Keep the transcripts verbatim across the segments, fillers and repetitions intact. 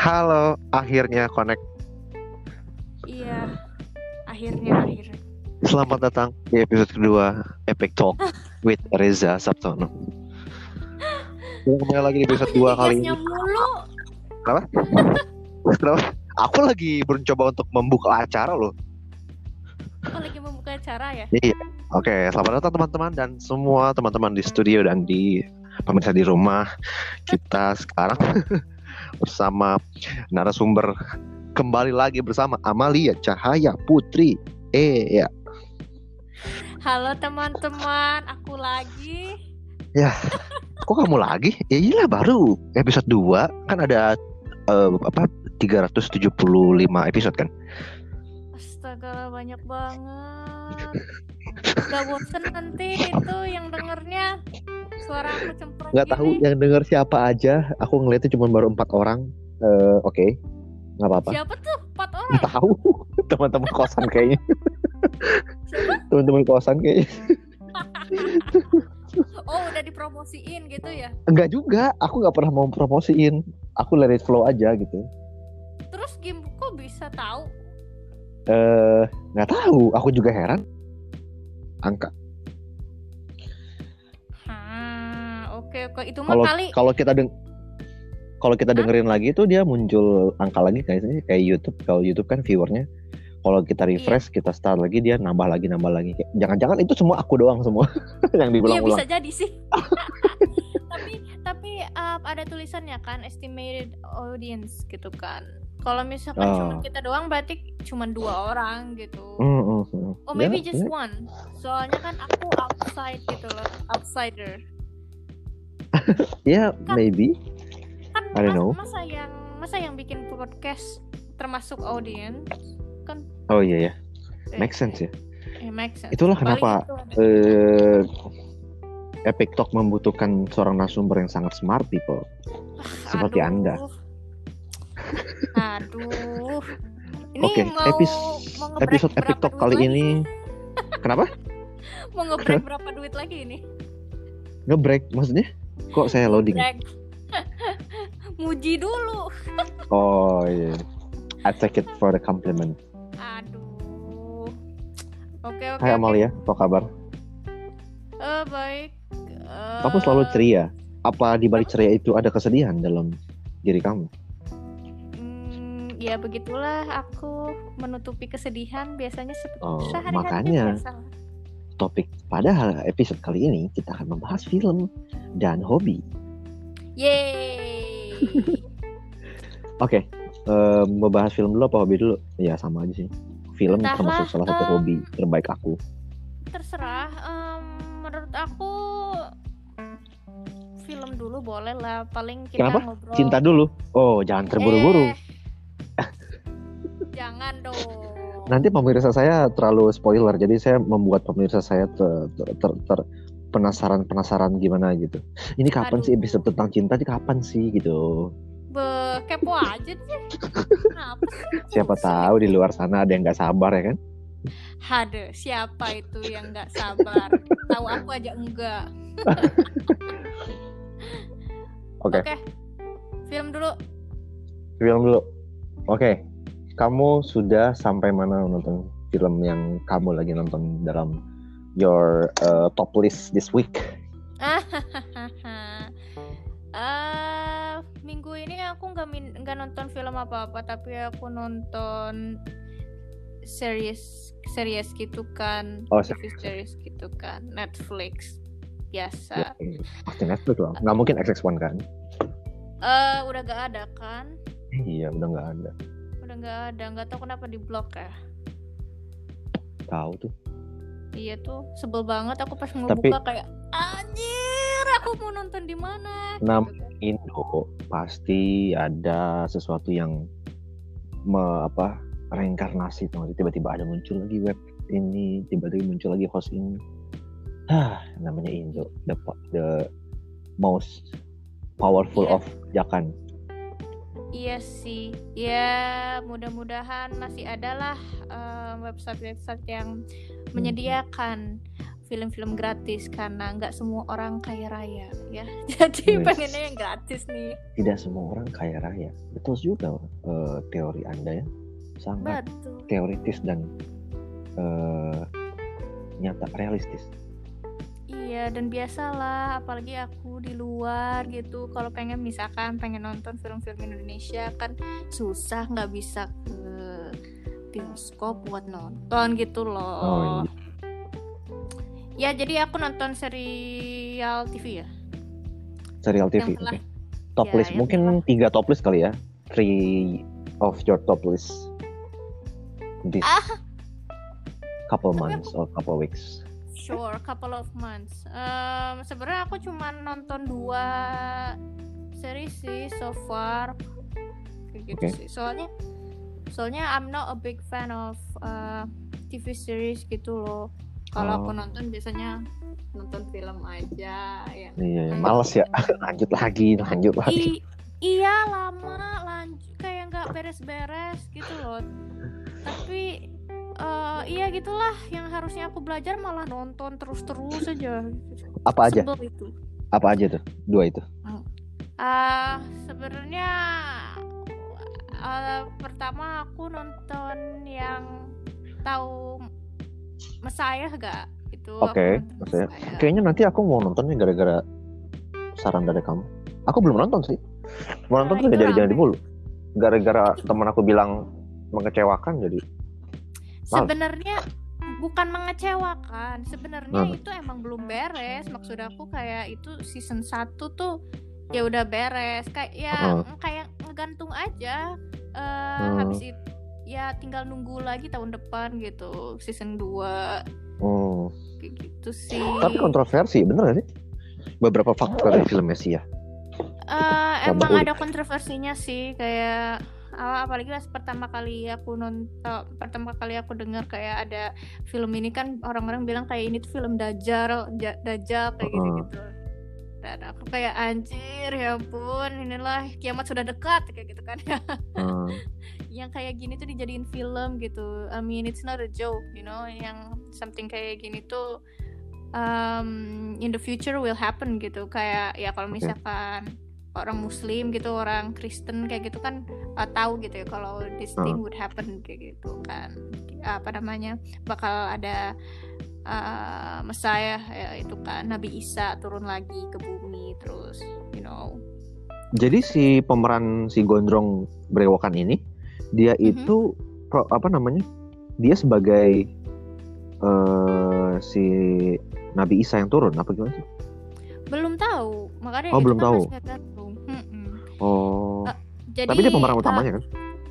Halo, akhirnya connect. Iya, akhirnya akhirnya. Selamat datang di episode kedua Epic Talk with Reza Sabtono. Kita kembali lagi di episode dua kali ini. Mulu. Kenapa? Kenapa? Aku lagi mencoba untuk membuka acara loh. Oh, lagi membuka acara ya? Iya. Oke, selamat datang teman-teman dan semua teman-teman di studio dan di pemirsa di rumah. Kita sekarang bersama narasumber, kembali lagi bersama Amalia Cahaya Putri. Eh ya. Halo teman-teman, aku lagi. Ya, kok kamu lagi? Ya iyalah, baru episode dua. Kan ada uh, apa tiga ratus tujuh puluh lima episode kan? Astaga, banyak banget. Gak bosen nanti itu yang dengernya. Suara aku cempreng Nggak gini. tahu yang denger siapa aja. Aku ngeliatnya cuma baru empat orang. Uh, Oke, okay. Nggak apa-apa. Siapa tuh? Empat orang? Nggak tahu. Teman-teman kosan kayaknya. Teman-teman kosan kayaknya. Oh, udah dipromosiin gitu ya? Enggak juga. Aku nggak pernah mau promosiin. Aku let it flow aja gitu. Terus game kok bisa tahu? Eh, nggak tahu. Aku juga heran. Angka. Oke oke itu mah Kalau kali kalau kita deng kalau kita dengerin lagi tuh dia muncul angka lagi kayaknya kayak YouTube. Kalau YouTube kan viewernya. Kalau kita refresh, iya. Kita start lagi dia nambah lagi nambah lagi. Kayak, jangan-jangan itu semua aku doang semua yang diulang-ulang. Iya bisa jadi sih. tapi tapi uh, ada tulisannya kan estimated audience gitu kan. Kalau misalkan oh. cuma kita doang berarti cuma dua orang gitu. Mm, mm, mm. Oh maybe yeah, just yeah. one. Soalnya kan aku outside gitu loh, outsider. Ya, yeah, kan, maybe. Kan I don't know. Masa yang masa yang bikin podcast termasuk audience kan? Oh iya ya. Make sense ya. Eh, make sense. Itulah kenapa eh, Epic Talk membutuhkan seorang narasumber yang sangat smart people. Seperti aduh. Anda. Aduh. Ini Oke, okay, mau, epis- mau episode Epic Talk kali lagi? Ini kenapa? Mau nge-break berapa duit lagi ini? Nge-break maksudnya? Kok saya loading? Muji dulu. Oh iya. I take it for the compliment. Aduh. Oke oke. Hai Amalia, apa kabar? Eh uh, baik. Uh... Kamu selalu ceria. Apa di balik ceria itu ada kesedihan dalam diri kamu? Hmm, ya begitulah aku menutupi kesedihan biasanya seperti oh, sehari-hari makanya biasa. Topik pada episode kali ini kita akan membahas film dan hobi. Yeay. Oke, okay, uh, membahas film dulu apa hobi dulu? Ya sama aja sih. Film Entahlah, termasuk salah satu um, hobi terbaik aku. Terserah. Um, menurut aku film dulu boleh lah. Paling kita Kenapa? Ngobrol. Cinta dulu. Oh, jangan terburu-buru. Eh, jangan dong. Nanti pemirsa saya terlalu spoiler, jadi saya membuat pemirsa saya ter, ter, ter, ter penasaran-penasaran gimana gitu. Ini kapan Aduh. sih episode tentang cinta? Ini kapan sih gitu? Be, kepo aja sih. Kenapa sih? Siapa tahu di luar sana ada yang nggak sabar ya kan? Hade, siapa itu yang nggak sabar? Tahu aku aja enggak. Oke. Okay. Okay. Film dulu. Film dulu. Oke. Okay. Kamu sudah sampai mana nonton film yang kamu lagi nonton dalam your uh, top list this week? uh, minggu ini aku nggak min- nggak nonton film apa-apa, tapi aku nonton series series gitu kan, oh, T V series gitu kan, Netflix biasa. Ya, pasti Netflix loh. Nggak mungkin X X one kan? Uh, udah nggak ada kan? Iya, udah nggak ada. Udah nggak ada, nggak tahu kenapa di blok ya. Tahu tuh. Iya tuh, sebel banget aku pas mau Tapi, buka kayak anjir, aku mau nonton di mana? Nam Indo pasti ada sesuatu yang me, apa reinkarnasi tuh, tiba-tiba ada muncul lagi web ini, tiba-tiba muncul lagi host ini. Hah, namanya Indo, the the most powerful yeah. of Jakan. Iya sih, ya mudah-mudahan masih ada lah uh, website-website yang menyediakan film-film gratis karena nggak semua orang kaya raya ya. Jadi Yes. pengennya yang gratis nih. Tidak semua orang kaya raya. Betul juga uh, teori Anda ya. Sangat Betul. teoritis dan uh, nyata realistis. Iya, dan biasalah apalagi aku di luar gitu, kalau pengen misalkan pengen nonton film-film Indonesia kan susah, nggak bisa ke bioskop buat nonton gitu loh. Oh iya. Ya jadi aku nonton serial T V ya. Serial T V. Yang Oke. telah Top ya, list yang mungkin telah. tiga top list kali ya. Three of your top list this Ah. couple Tapi months or couple weeks. Sure, couple of months. Um, sebenarnya aku cuma nonton dua series sih so far, kayak gitu Oke. sih. Soalnya, soalnya I'm not a big fan of uh, T V series gitu loh. Kalau aku Oh. nonton biasanya nonton film aja ya. Iya, Kayak- males ya. lanjut lagi, lanjut lagi. I- iya lama lanjut kayak nggak beres-beres gitu loh. Tapi uh, iya gitulah, yang harusnya aku belajar malah nonton terus-terus aja. Apa aja? Sebel itu. Apa aja tuh? Dua itu. Ah, sebenarnya uh, pertama aku nonton yang tahu Messiah gak? Itu aku Oke, nonton Messiah. Messiah. Kayaknya nanti aku mau nontonnya gara-gara saran dari kamu. Aku belum nonton sih. Mau nonton Nah, tuh itu jadi jadi rame. dulu. Gara-gara teman aku bilang mengecewakan jadi. Sebenarnya bukan mengecewakan. Sebenarnya Hmm. itu emang belum beres. Maksud aku kayak itu season satu tuh ya udah beres. Kayak ya Hmm. kayak ngegantung aja. Eh, Hmm. Habis itu ya tinggal nunggu lagi tahun depan gitu season dua Hmm. kayak gitu sih. Tapi kontroversi, bener gak sih? Beberapa faktor dari film Messi ya. Eh, Coba emang ulik. ada kontroversinya sih, kayak ah, apalagi pas pertama kali aku nonton, pertama kali aku dengar kayak ada film ini kan orang-orang bilang kayak ini tuh film Dajjal, ja- Dajjal kayak Uh-uh. gitu-gitu. Dan aku kayak anjir ya ampun, inilah kiamat sudah dekat kayak gitu kan. Hmm. Yang kayak gini tuh dijadiin film gitu. I mean it's not a joke, you know, yang something kayak gini tuh um, in the future will happen gitu. Kayak ya kalau Oke. misalkan orang Muslim gitu, orang Kristen kayak gitu kan uh, tahu gitu ya kalau this thing Uh. would happen kayak gitu kan. Apa namanya? Bakal ada uh, Messiah ya, itu kan Nabi Isa turun lagi ke bumi terus, you know. Jadi si pemeran si gondrong berewokan ini, dia Mhm. itu pro- apa namanya? Dia sebagai eh, si Nabi Isa yang turun apa gimana sih? Belum tahu, makanya Oh, itu belum kan tahu. masih tergantung. Mm-mm. Oh. Uh, Jadi Tapi dia pemeran uh, utamanya kan?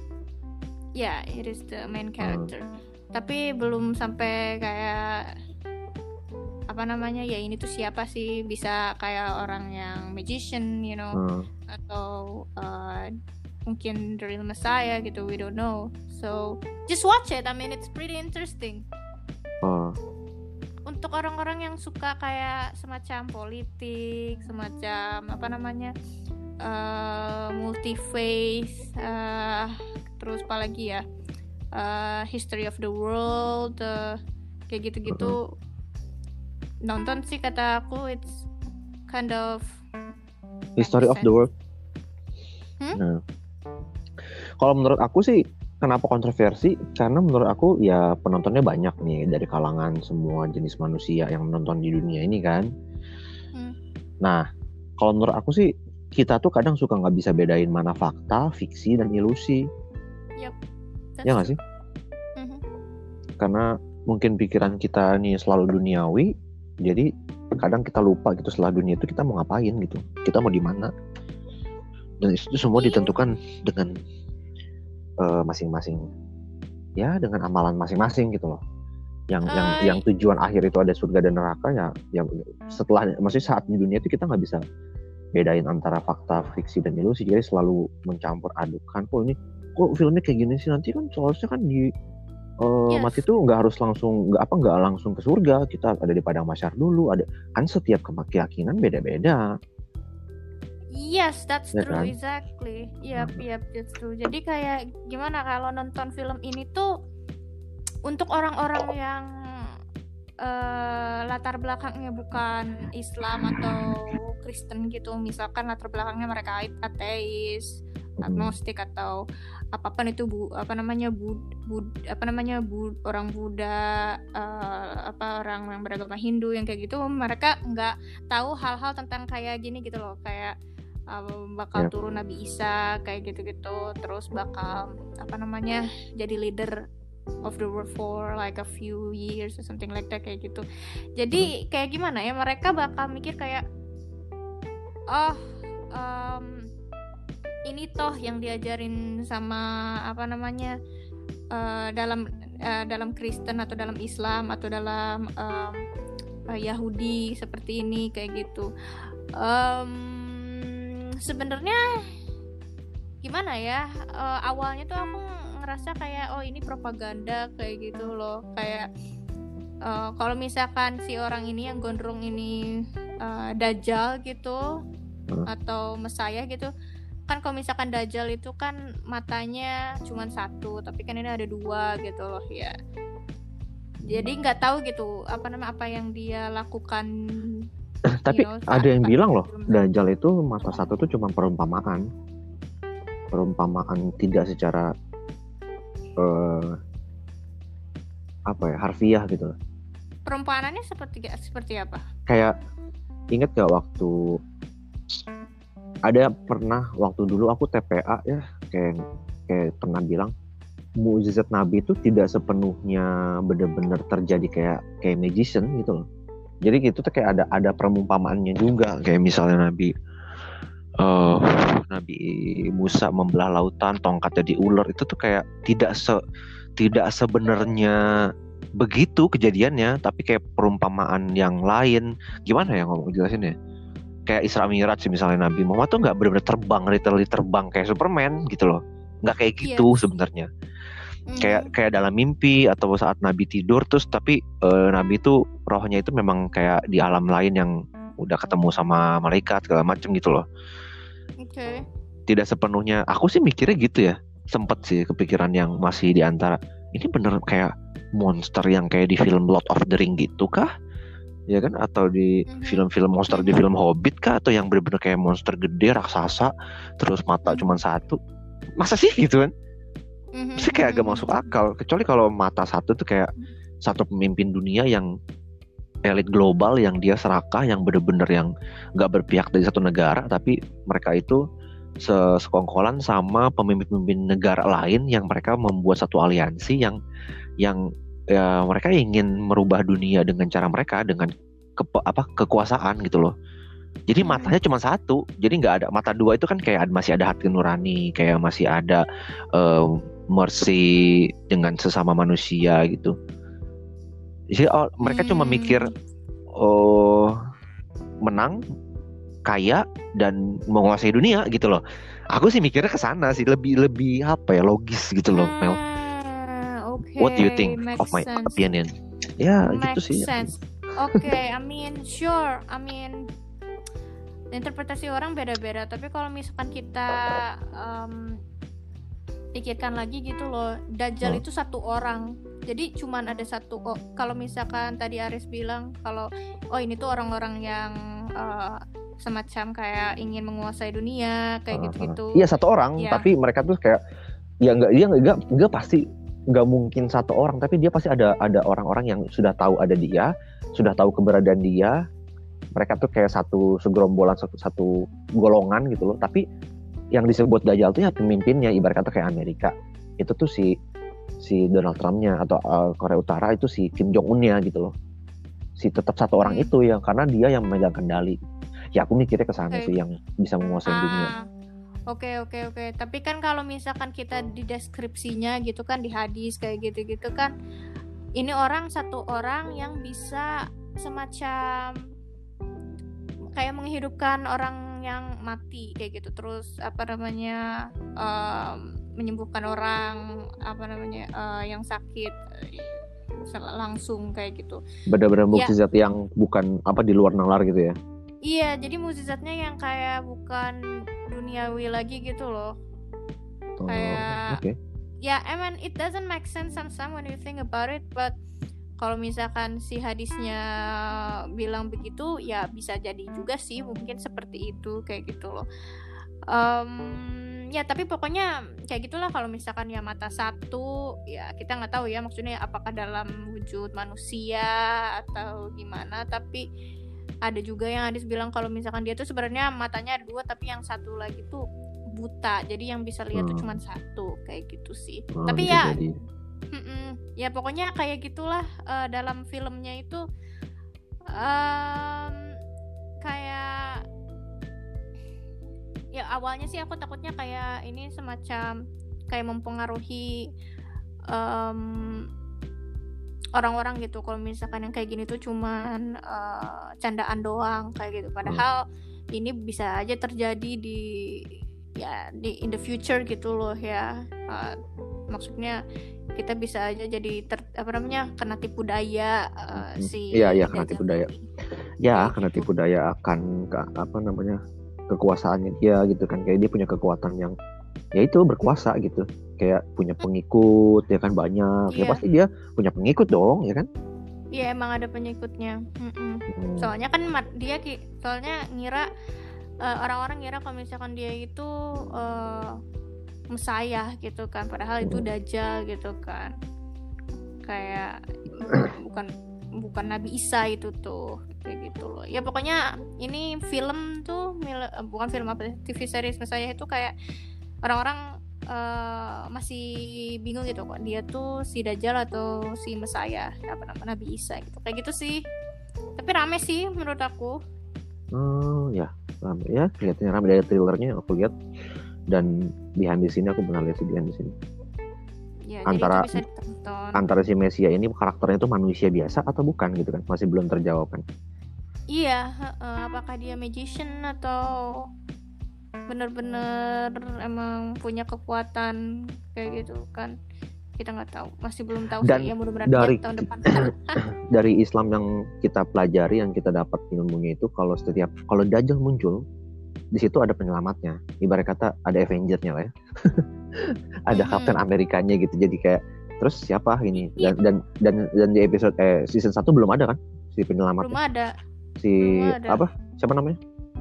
ya, it is the main Hmm. character. Tapi belum sampai kayak apa namanya ya ini tuh siapa sih, bisa kayak orang yang magician, you know, Hmm. atau uh, mungkin the real Messiah gitu, we don't know. So just watch it. I mean it's pretty interesting. Oh. Untuk orang-orang yang suka kayak semacam politik, semacam apa namanya uh, multi faith, uh, terus apa lagi ya, uh, history of the world, uh, kayak gitu-gitu. Nonton sih kata aku it's kind of History of the world. Hmm? Nah. Kalau menurut aku sih kenapa kontroversi? Karena menurut aku ya penontonnya banyak nih dari kalangan semua jenis manusia yang menonton di dunia ini kan. Hmm. Nah, kalau menurut aku sih kita tuh kadang suka nggak bisa bedain mana fakta, fiksi dan ilusi. Yep, Ya nggak sih? Mhm. Karena mungkin pikiran kita nih selalu duniawi, jadi kadang kita lupa gitu setelah dunia itu kita mau ngapain gitu, kita mau di mana. Dan itu semua Iya. ditentukan dengan uh, masing-masing, ya dengan amalan masing-masing gitu loh. Yang yang Uh, yang tujuan akhir itu ada surga dan neraka ya. Ya setelah, maksudnya saat di dunia itu kita nggak bisa bedain antara fakta, fiksi dan ilusi. Jadi selalu mencampur adukan. Kok ini, kok filmnya kayak gini sih, nanti kan seharusnya kan di uh, Yes. mati tuh nggak harus langsung nggak apa nggak langsung ke surga, kita ada di padang mahsyar dulu, ada kan setiap keyakinan beda-beda. Yes, that's Ya true, kan? exactly. Yep, Hmm. yep, that's true. Jadi kayak gimana kalau nonton film ini tuh untuk orang-orang yang uh, latar belakangnya bukan Islam atau Kristen gitu, misalkan latar belakangnya mereka ateis, agnostik atau apapun itu, bu apa namanya bud, bud apa namanya bud, orang Buddha, uh, apa orang yang beragama Hindu yang kayak gitu, mereka nggak tahu hal-hal tentang kayak gini gitu loh, kayak uh, bakal yeah. turun Nabi Isa kayak gitu-gitu, terus bakal apa namanya jadi leader of the world for like a few years or something like that kayak gitu. Jadi kayak gimana ya, mereka bakal mikir kayak oh um, ini toh yang diajarin sama apa namanya uh, dalam uh, dalam Kristen atau dalam Islam atau dalam um, uh, Yahudi seperti ini kayak gitu. Um, sebenarnya gimana ya, uh, awalnya tuh aku ngerasa kayak oh ini propaganda kayak gitu loh, kayak uh, kalau misalkan si orang ini yang gondrong ini uh, Dajjal gitu hmm. atau Mesaya gitu kan, kalau misalkan Dajjal itu kan matanya cuma satu, tapi kan ini ada dua gitu loh ya, jadi nggak tahu gitu apa nama apa yang dia lakukan. Tapi you know, ada yang bilang loh Dajjal itu mata satu tuh cuma perumpamaan perumpamaan tidak secara Uh, apa ya harfiah gitu. Perumpamaannya seperti seperti apa? Kayak inget gak waktu ada pernah waktu dulu aku T P A ya, kayak kayak pernah bilang mukjizat Nabi itu tidak sepenuhnya benar-benar terjadi kayak kayak magician gitu loh. Jadi gitu tuh kayak ada ada perumpamaannya juga, kayak misalnya Nabi Uh, Nabi Musa membelah lautan, tongkatnya diular, itu tuh kayak tidak se tidak sebenarnya begitu kejadiannya, tapi kayak perumpamaan yang lain. Gimana ya ngomong jelasin ya? Kayak Isra Mi'raj sih, misalnya Nabi Muhammad tuh nggak benar-benar terbang, literally terbang kayak Superman gitu loh, nggak kayak gitu yes. sebenarnya. Mm. Kayak kayak dalam mimpi atau saat Nabi tidur terus, tapi uh, Nabi itu rohnya itu memang kayak di alam lain yang udah ketemu sama malaikat segala macem gitu loh. Oke. Okay. Tidak sepenuhnya, aku sih mikirnya gitu ya. Sempet sih kepikiran yang masih di antara ini bener kayak monster yang kayak di film Lord of the Ring gitu kah? Ya kan, atau di mm-hmm. film-film monster di film Hobbit kah, atau yang bener-bener kayak monster gede raksasa terus mata mm-hmm. cuma satu. Masa sih gitu kan? Mm-hmm. Sih kayak agak masuk akal, kecuali kalau mata satu tuh kayak mm-hmm. satu pemimpin dunia yang elit global, yang dia serakah, yang bener-bener yang nggak berpihak dari satu negara, tapi mereka itu sekongkolan sama pemimpin-pemimpin negara lain yang mereka membuat satu aliansi yang yang ya, mereka ingin merubah dunia dengan cara mereka, dengan ke, apa kekuasaan gitu loh. Jadi hmm. matanya cuma satu, jadi nggak ada mata dua, itu kan kayak masih ada hati nurani, kayak masih ada uh, mercy dengan sesama manusia gitu. Jadi oh, mereka hmm. cuma mikir oh menang, kaya, dan menguasai dunia gitu loh. Aku sih mikirnya ke sana sih, lebih lebih apa ya, logis gitu loh, Mel. Ah, okay. What do you think Makes of my sense. opinion? Ya Makes gitu sih. Sense. Oke, okay, I mean sure, I mean interpretasi orang beda-beda. Tapi kalau misalkan kita um, pikirkan lagi gitu loh, Dajjal hmm. itu satu orang. Jadi cuman ada satu. Oh, kalau misalkan tadi Aris bilang kalau oh ini tuh orang-orang yang uh, semacam kayak ingin menguasai dunia kayak uh, gitu-gitu. Iya satu orang, ya. Tapi mereka tuh kayak ya nggak dia nggak nggak pasti nggak mungkin satu orang, tapi dia pasti ada ada orang-orang yang sudah tahu ada dia, sudah tahu keberadaan dia. Mereka tuh kayak satu segerombolan, satu satu golongan gitu loh. Tapi yang disebut Dajjal tuh ya pemimpinnya, ibarat kata kayak Amerika itu tuh si si Donald Trump-nya, atau uh, Korea Utara itu si Kim Jong Un-nya gitu loh. Si tetap satu orang hmm. itu ya, karena dia yang memegang kendali. Ya aku mikirnya ke sana okay. sih, yang bisa menguasai ah, dunia. Oke okay, oke okay, oke. Okay. Tapi kan kalau misalkan kita di deskripsinya gitu kan, di hadis kayak gitu-gitu kan, ini orang satu orang yang bisa semacam kayak menghidupkan orang yang mati kayak gitu, terus apa namanya um, menyembuhkan orang apa namanya uh, yang sakit langsung kayak gitu. Benar-benar mukjizat ya. Yang bukan apa di luar nalar gitu ya. Iya, jadi mukjizatnya yang kayak bukan duniawi lagi gitu loh. Oh, kayak okay. Ya, yeah, I mean it doesn't make sense sometimes when you think about it, but kalau misalkan si hadisnya bilang begitu, ya bisa jadi juga sih mungkin seperti itu kayak gitu loh. Um, ya tapi pokoknya kayak gitulah, kalau misalkan ya mata satu, ya kita nggak tahu ya maksudnya apakah dalam wujud manusia atau gimana, tapi ada juga yang hadis bilang kalau misalkan dia tuh sebenarnya matanya ada dua tapi yang satu lagi tuh buta, jadi yang bisa lihat Hmm. tuh cuma satu kayak gitu sih. Oh, Tapi bisa ya jadi. mm-mm, ya pokoknya kayak gitulah. eh, dalam filmnya itu em, kayak ya awalnya sih aku takutnya kayak ini semacam kayak mempengaruhi em, orang-orang gitu kalau misalkan yang kayak gini tuh cuman eh, candaan doang kayak gitu, padahal ini bisa aja terjadi di ya di in the future gitu loh ya. Eh, maksudnya kita bisa aja jadi ter, apa namanya kena tipu daya eh, Hmm. si Iya, iya, kena Dajjal tipu daya. ini. Ya, Kayak kena gitu. tipu daya akan ke, apa namanya kekuasaannya dia gitu kan, kayak dia punya kekuatan yang ya itu berkuasa gitu, kayak punya pengikut ya kan banyak, ya Iya, pasti dia punya pengikut dong ya kan. iya emang ada pengikutnya. Mm-mm. Hmm. Soalnya kan mat- dia ki- soalnya ngira eh, orang-orang ngira kalau misalkan dia itu eh, Mesayah gitu kan, padahal itu Hmm. Dajjal gitu kan, kayak bukan bukan Nabi Isa itu tuh kayak gitu loh. Ya pokoknya ini film tuh mil- eh, bukan film apa T V series Mesayah itu kayak orang-orang eh, masih bingung gitu kok dia tuh si Dajjal atau si Mesayah apa nama Nabi Isa gitu kayak gitu sih. Tapi rame sih menurut aku. Oh ya, rame ya, kelihatannya rame dari trailernya aku lihat, dan behind the scene aku pernah lihat sih behind the scene. Ya, Antara jadi itu bisa ditonton. antara si Mesia ini karakternya itu manusia biasa atau bukan gitu kan, masih belum terjawab kan. Iya, heeh, apakah dia magician atau bener-bener emang punya kekuatan kayak gitu kan, kita nggak tahu, masih belum tahu Dan sih ya, mudah-mudahan dari tahun depan. dari Islam yang kita pelajari, yang kita dapat ilmunya itu, kalau setiap kalau Dajjal muncul di situ ada penyelamatnya, ibarat kata ada Avenger-nya lah ya. Ada Mhm. Captain Amerikanya gitu, jadi kayak terus siapa ini, Iya. dan dan dan, dan di episode eh season satu belum ada kan si penyelamatnya, Belum ada. si belum ada. apa siapa namanya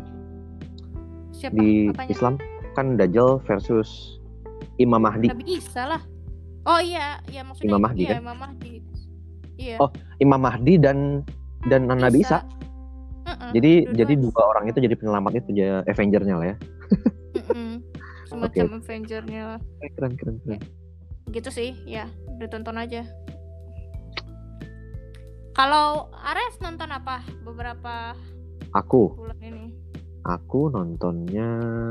Siapa? di Apanya? Islam kan Dajjal versus Imam Mahdi. Nabi Isa lah. Oh iya, iya maksudnya Imam Mahdi iya kan? Imam Mahdi. Iya. Oh, Imam Mahdi dan dan Nabi Isa. Uh-uh, Jadi dua-duanya. jadi dua orang itu jadi penyelamat itu, ya Avenger-nya lah ya. Mm-mm. Semacam Oke. Avenger-nya lah. Keren keren keren. Gitu sih, ya udah tonton aja. Kalau Ares nonton apa beberapa Aku bulan ini? aku nontonnya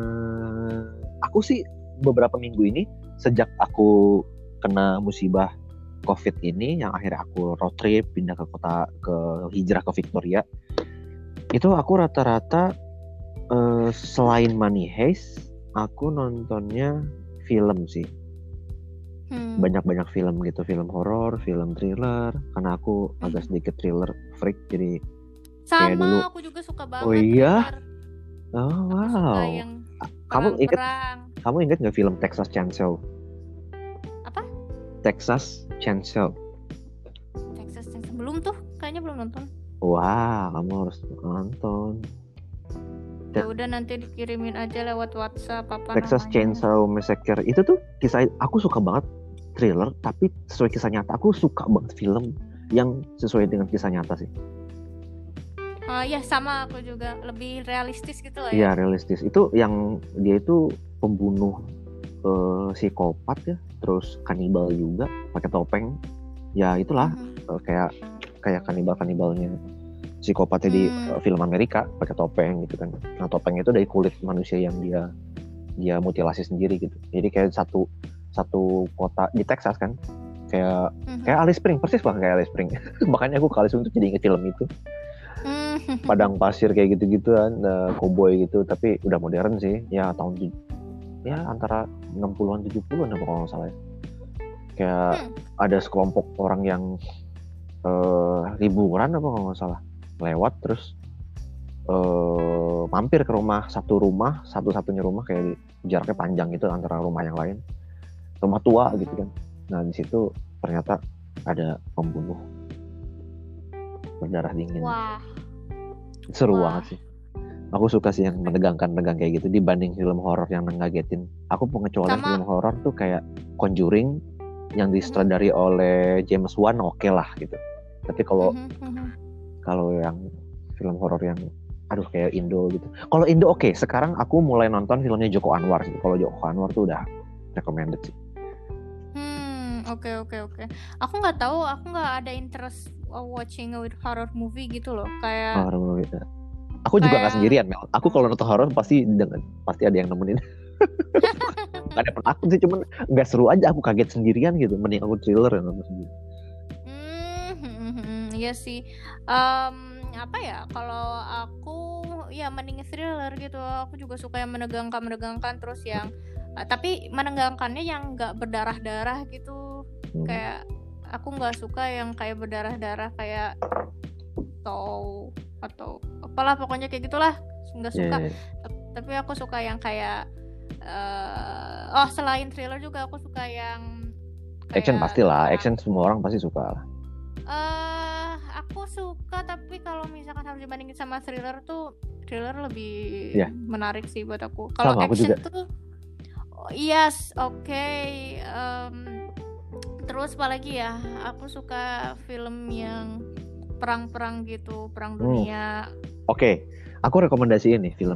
aku sih beberapa minggu ini sejak aku kena musibah COVID ini, yang akhirnya aku road trip pindah ke kota, ke hijrah ke Victoria, itu aku rata-rata eh, selain Money Heist aku nontonnya film sih. Hmm. Banyak-banyak film gitu, film horor, film thriller, karena aku Hmm. agak sedikit thriller freak, jadi Sama, dulu. aku juga suka banget. Oh iya? thriller. Oh Aku suka wow. yang Kamu ingat perang-perang. kamu ingat nggak film Texas Chainsaw? Apa? Texas Chainsaw. Texas Chainsaw. Belum tuh, kayaknya belum nonton. Wah, kamu harus nonton. Ya udah nanti dikirimin aja lewat WhatsApp apa Texas namanya. Chainsaw Massacre itu tuh kisah, aku suka banget thriller tapi sesuai kisah nyata. Aku suka banget film yang sesuai dengan kisah nyata sih. Oh ya sama, aku juga lebih realistis gitu lah Iya, ya. realistis. Itu yang dia itu pembunuh eh, psikopat ya, terus kanibal juga, pakai topeng. Ya itulah Mhm. eh, kayak kayak kanibal-kanibalnya psikopatnya di Hmm. eh, film Amerika, pakai topeng gitu kan. Nah, topeng itu dari kulit manusia yang dia dia mutilasi sendiri gitu. Jadi kayak satu satu kota di Texas kan. Kayak Mhm. kayak Alice Spring, persis banget kayak Alice Spring. Makanya aku ke Alice Spring tuh jadi inget film itu. Mhm. Padang pasir kayak gitu-gituan, uh, cowboy gitu, tapi udah modern sih. Ya tahun tu- ya antara enam puluhan tujuh puluhan apa kalau nggak salah ya. Kayak Hmm. ada sekelompok orang yang uh, liburan apa kalau nggak salah, lewat terus uh, mampir ke rumah, satu rumah, satu-satunya rumah kayak jaraknya panjang gitu antara rumah yang lain. Rumah tua gitu kan. Nah, di situ ternyata ada pembunuh berdarah dingin. Wah. Seru Wah. banget sih. Aku suka sih yang menegangkan-negang kayak gitu dibanding film horor yang ngagetin. Aku pengecualian Sama- film horor tuh kayak Conjuring yang disutradari oleh James Wan, oke lah gitu. Tapi kalau Mhm, mhm. kalau yang film horor yang aduh kayak Indo gitu. Kalau Indo oke, sekarang aku mulai nonton filmnya Joko Anwar sih. Kalau Joko Anwar tuh udah recommended sih. Hmm, oke oke oke. Aku nggak tahu, aku nggak ada interest uh, watching a horror movie gitu loh. Kayak Horor movie. Aku juga nggak Kayak- sendirian, Mel. Aku kalau nonton horor pasti dengan pasti ada yang nemenin. Gak ada penakut sih, cuman nggak seru aja. Aku kaget sendirian gitu. Mending aku thriller yang nonton sendiri. Hmm, hmm, hmm, hmm, iya sih. Em, apa ya? Kalau aku ya mending thriller gitu. Aku juga suka yang menegangkan-menegangkan terus yang uh, tapi menegangkannya yang nggak berdarah-darah gitu. Hmm. Kayak aku nggak suka yang kayak berdarah-darah kayak atau atau apalah pokoknya kayak gitulah. Nggak suka. Yeah. T- Tapi aku suka yang kayak eh, oh selain thriller juga aku suka yang Action kayak pastilah, tentang- action semua orang pasti suka lah. Eh, aku suka tapi kalau misalkan harus dibandingin sama thriller tuh thriller lebih Iya. menarik sih buat aku. Kalau Sama, aku action juga. tuh oh, yes, oke. Em, terus apa lagi ya? Aku suka film yang perang-perang gitu, perang Hmm. dunia. Oke, aku rekomendasiin nih film.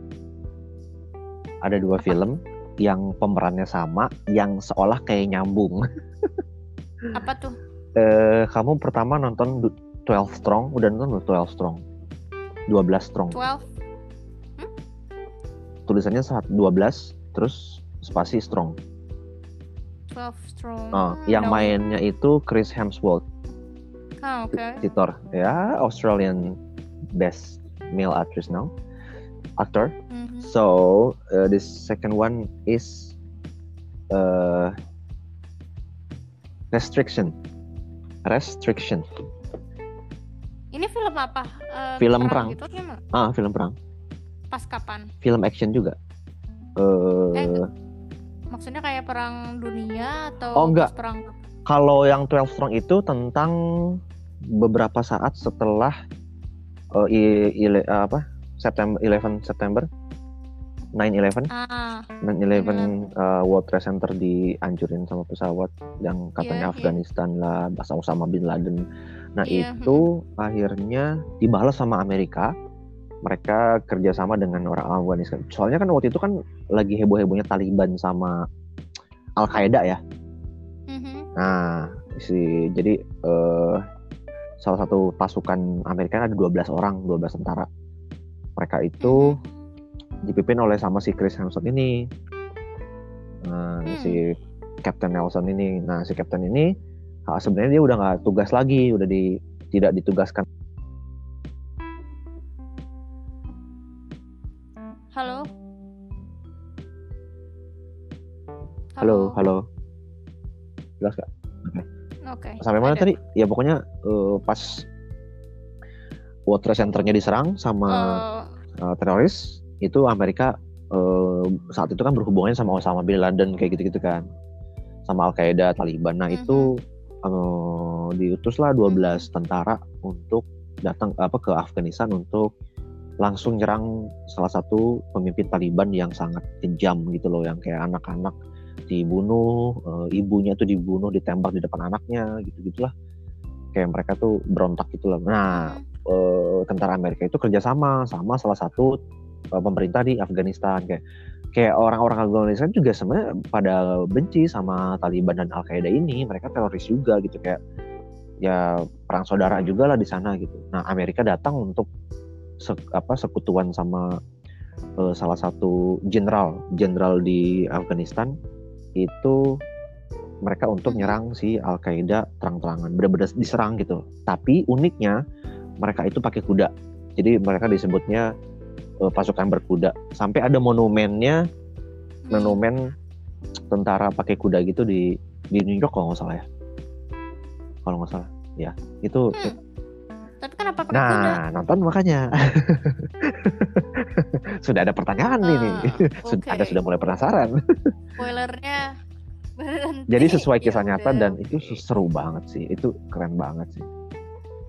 Ada dua Apa? film yang pemerannya sama, yang seolah kayak nyambung. Apa tuh? Eh, kamu pertama nonton du- twelve Strong, udah nonton belum twelve Strong? dua belas Strong. twelve Tulisannya saat dua belas, terus spasi Strong. twelve strong. Oh, Hmm, yang no. mainnya itu Chris Hemsworth, Ah, oke. Titor, ya Australian best male actress now, actor. Mhm. So uh, this second one is uh, restriction, restriction. Ini film apa? Eh, Film perang. gitu gimana? Ah, film perang, Pas kapan? film action juga. Uh, Eh, Maksudnya kayak perang dunia atau Oh, enggak. pas perang? Kalau yang twelve Strong itu tentang beberapa saat setelah uh, i, ile- uh, apa September eleven September nine eleven Ah, nine eleven uh, World Trade Center dihancurin sama pesawat yang katanya Iya, iya. Afghanistan lah, bahasa Osama bin Laden. Nah Iya, itu akhirnya dibalas sama Amerika. Mereka kerjasama dengan orang Afghanistan. Soalnya kan waktu itu kan lagi heboh-hebohnya Taliban sama Al Qaeda ya. mhm. Nah, si jadi eh, salah satu pasukan Amerika ada dua belas orang, dua belas tentara. Mereka itu dipimpin oleh sama si Chris Hemsworth ini. Nah, Hmm. si Captain Nelson ini. Nah, si Captain ini ah, sebenarnya dia udah nggak tugas lagi, udah di tidak ditugaskan. Halo. Halo, halo. Jelas gak? Oke. Sampai mana ada. tadi? Ya pokoknya eh, pas World Trade Center-nya diserang sama Eh, uh, teroris, itu Amerika uh, saat itu kan berhubungannya sama Osama bin Laden kayak gitu-gitu kan, sama Al Qaeda, Taliban. Nah Mhm. itu uh, diutuslah dua belas tentara untuk datang apa ke Afghanistan untuk langsung nyerang salah satu pemimpin Taliban yang sangat kejam gitu loh, yang kayak anak-anak dibunuh, uh, ibunya tuh dibunuh, ditembak di depan anaknya gitu-gitulah, kayak mereka tuh berontak gitu loh. Nah mhm. eh, tentara Amerika itu kerjasama sama salah satu eh, pemerintah di Afghanistan, kayak kayak orang-orang Afghanistan juga sebenarnya pada benci sama Taliban dan Al Qaeda ini, mereka teroris juga gitu, kayak ya perang saudara juga lah di sana gitu. Nah Amerika datang untuk se- apa sekutuan sama eh, salah satu jenderal jenderal di Afghanistan itu, mereka untuk Mhm. nyerang si Al Qaeda terang-terangan, benar-benar diserang gitu. Tapi uniknya mereka itu pakai kuda, jadi mereka disebutnya uh, pasukan berkuda. Sampai ada monumennya, Hmm. monumen tentara pakai kuda gitu di di New York kalau nggak salah ya, kalau nggak salah ya itu. Hmm. Tapi kenapa pakai kuda? Nah nonton makanya sudah ada pertanyaan Ah, ini. Sudah oke. ada sudah mulai penasaran. Spoilernya berhenti. Jadi sesuai kisah Ya nyata udah. dan itu seru banget sih, itu keren banget sih.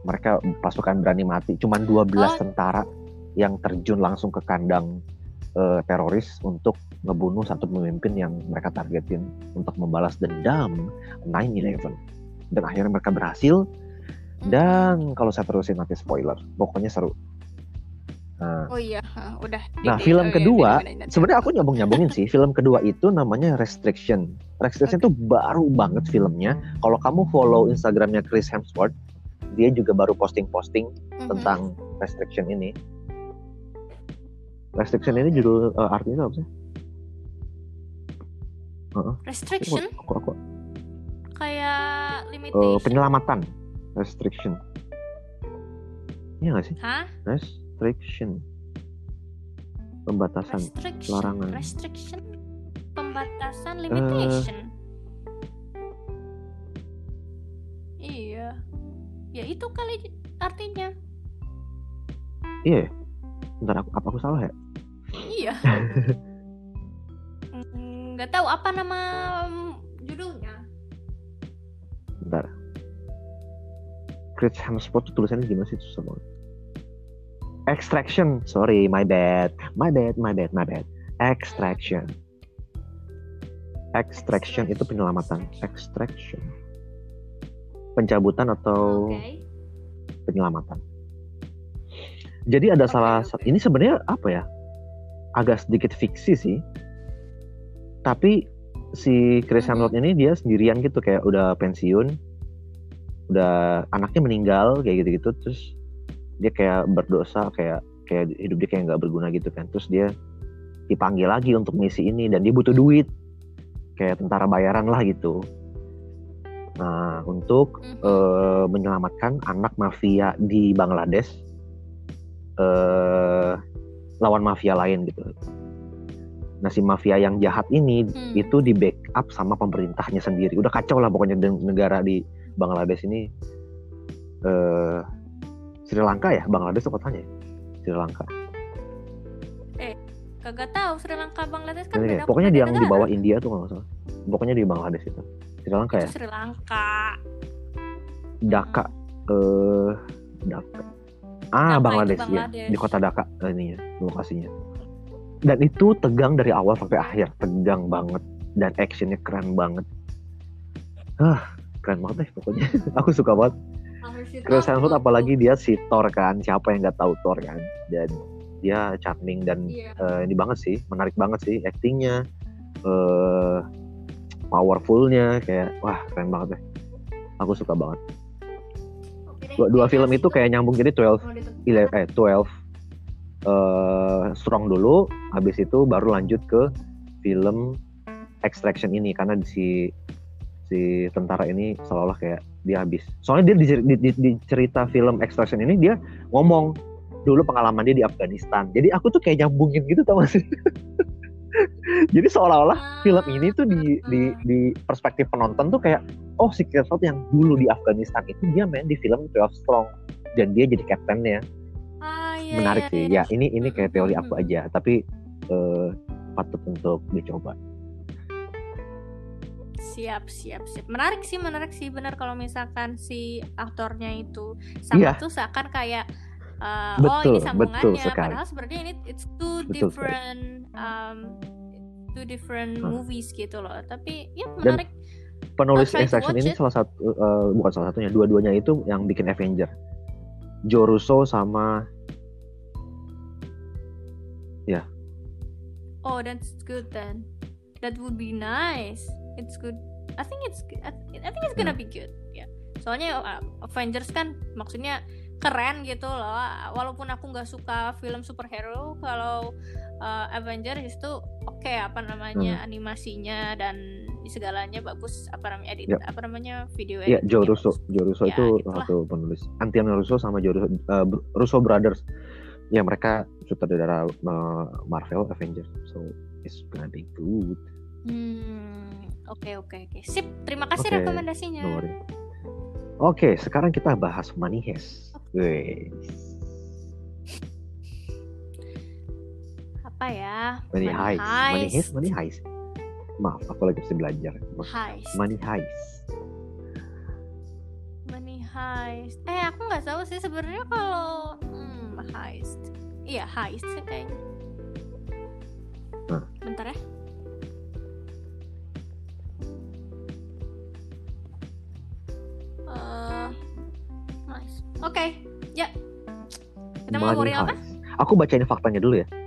mereka pasukan berani mati, cuman dua belas Oh. tentara yang terjun langsung ke kandang uh, teroris untuk ngebunuh satu pemimpin yang mereka targetin untuk membalas dendam nine eleven. Dan akhirnya mereka berhasil. Dan kalau saya terusin nanti spoiler, pokoknya seru. Nah, Oh iya, ah, udah. nah Di- di- film oh iya, kedua, di- di- di- sebenarnya aku nyambung-nyambungin sih. Film kedua itu namanya Restriction. Restriction itu baru banget filmnya. Kalau kamu follow Instagramnya Chris Hemsworth, dia juga baru posting-posting Mhm. tentang Restriction ini. Restriction ini judul uh, artinya apa sih? Uh-uh. Restriction Aku, aku, aku, kayak uh, limitation. penyelamatan. Restriction. Iya nggak sih? Hah? Restriction. Pembatasan. Restriction. larangan. Restriction. Pembatasan, limitation. Iya. Ya itu kali artinya. Iya. Bentar, aku, apa aku salah ya? Iya. Mm, Nggak tahu apa nama mm, judulnya. Bentar. Chris Hemsworth tuh tulisannya gimana sih? Susah banget. Extraction. Sorry, my bad. My bad, my bad, my bad. Extraction. Extraction itu penyelamatan. Extraction. Pencabutan atau Oke. penyelamatan. Jadi ada Oke, salah oke. satu, ini sebenarnya apa ya? Agak sedikit fiksi sih. Tapi si Chris Mhm. Hemsworth ini dia sendirian gitu, kayak udah pensiun, udah anaknya meninggal kayak gitu-gitu, terus dia kayak berdosa, kayak kayak hidup dia kayak nggak berguna gitu kan. Terus dia dipanggil lagi untuk misi ini dan dia butuh duit, kayak tentara bayaran lah gitu. Nah, untuk Mhm. eh, menyelamatkan anak mafia di Bangladesh eh, lawan mafia lain gitu. Nah, si mafia yang jahat ini Hmm. itu di backup sama pemerintahnya sendiri. Udah kacau lah pokoknya de- negara di Bangladesh ini. eh, Sri Lanka ya? Bangladesh itu kotanya ya? Sri Lanka. Kagak tahu Sri Lanka Bangladesh kan Jadi kayak- beda pokoknya beda yang di negara. bawah India tuh kalau nggak salah. Pokoknya di Bangladesh itu. Sri Lanka ya? Itu Sri Lanka. Dhaka. Eh, Dhaka. Ah, Dhaka Bangladesh, itu ya. Bangladesh. Di kota Dhaka eh, ininya, lokasinya. Dan itu tegang dari awal sampai akhir, tegang banget dan actionnya keren banget. Hah, keren banget deh pokoknya. Aku suka banget. Chris Hemsworth apalagi dia si Thor kan, siapa yang nggak tahu Thor kan? Dan dia charming dan Iya. eh, ini banget sih, menarik banget sih actingnya, eh, powerfulnya, kayak wah keren banget deh. Aku suka banget. Oke deh, Dua, dua kayaknya film itu situ kayak nyambung, jadi twelve, mau ditutup. ele- eh twelve eh, Strong dulu, habis itu baru lanjut ke film Extraction ini karena di si si tentara ini seolah-olah kayak dia habis. Soalnya dia di, di, di, di cerita film Extraction ini dia ngomong dulu pengalaman dia di Afghanistan. Jadi aku tuh kayak nyambungin gitu tau gak sih? Jadi seolah-olah film ini tuh di, di di perspektif penonton tuh kayak oh si Chris Hemsworth yang dulu di Afghanistan itu dia main di film twelve Strong dan dia jadi kaptennya. Ah, iya, Menarik iya, sih. iya. Ya ini ini kayak teori aku aja, tapi eh, patut untuk dicoba. Siap, siap, siap. Menarik sih, menarik sih. Benar kalau misalkan si aktornya itu sama Iya. tuh seakan kayak uh, oh Betul, ini betul sambungannya. sekali. Padahal sebenarnya ini it's two Betul different um, two different Hmm. movies gitu loh. Tapi ya Dan menarik. penulis I'll try to Extraction watch ini it. salah satu eh, bukan salah satunya, dua-duanya itu yang bikin Avenger. Joe Russo sama Oh, that's good then. That would be nice. It's good. I think it's I I think it's gonna Hmm. be good. Ya. Soalnya uh, Avengers kan maksudnya keren gitu loh. Walaupun aku nggak suka film superhero, kalau uh, Avengers itu oke apa namanya Hmm. animasinya dan segalanya bagus, apa namanya edit Yep. apa namanya video ya editingnya Joe Russo. bagus. Joe Russo Ya, itu gitulah. satu penulis. Antonio Russo sama Joe Russo, eh, Russo Brothers. Ya mereka sutradara eh, Marvel Avengers. So it's gonna be good. Hmm, oke oke oke. Sip, terima kasih Oke, rekomendasinya. No worry. Oke, sekarang kita bahas Money Heist. Wih, Apa ya? Money Heist. Money Heist, Money Heist. Maaf, aku lagi mesti belajar. Heist. Money Heist. Money heist. Eh aku nggak tahu sih sebenarnya kalau hmm, heist. Iya heist sih kayaknya. Nah. Bentar ya. Uh, nice. Oke, okay. Ya. Kita mau ngobrolin apa? Aku bacain faktanya dulu ya.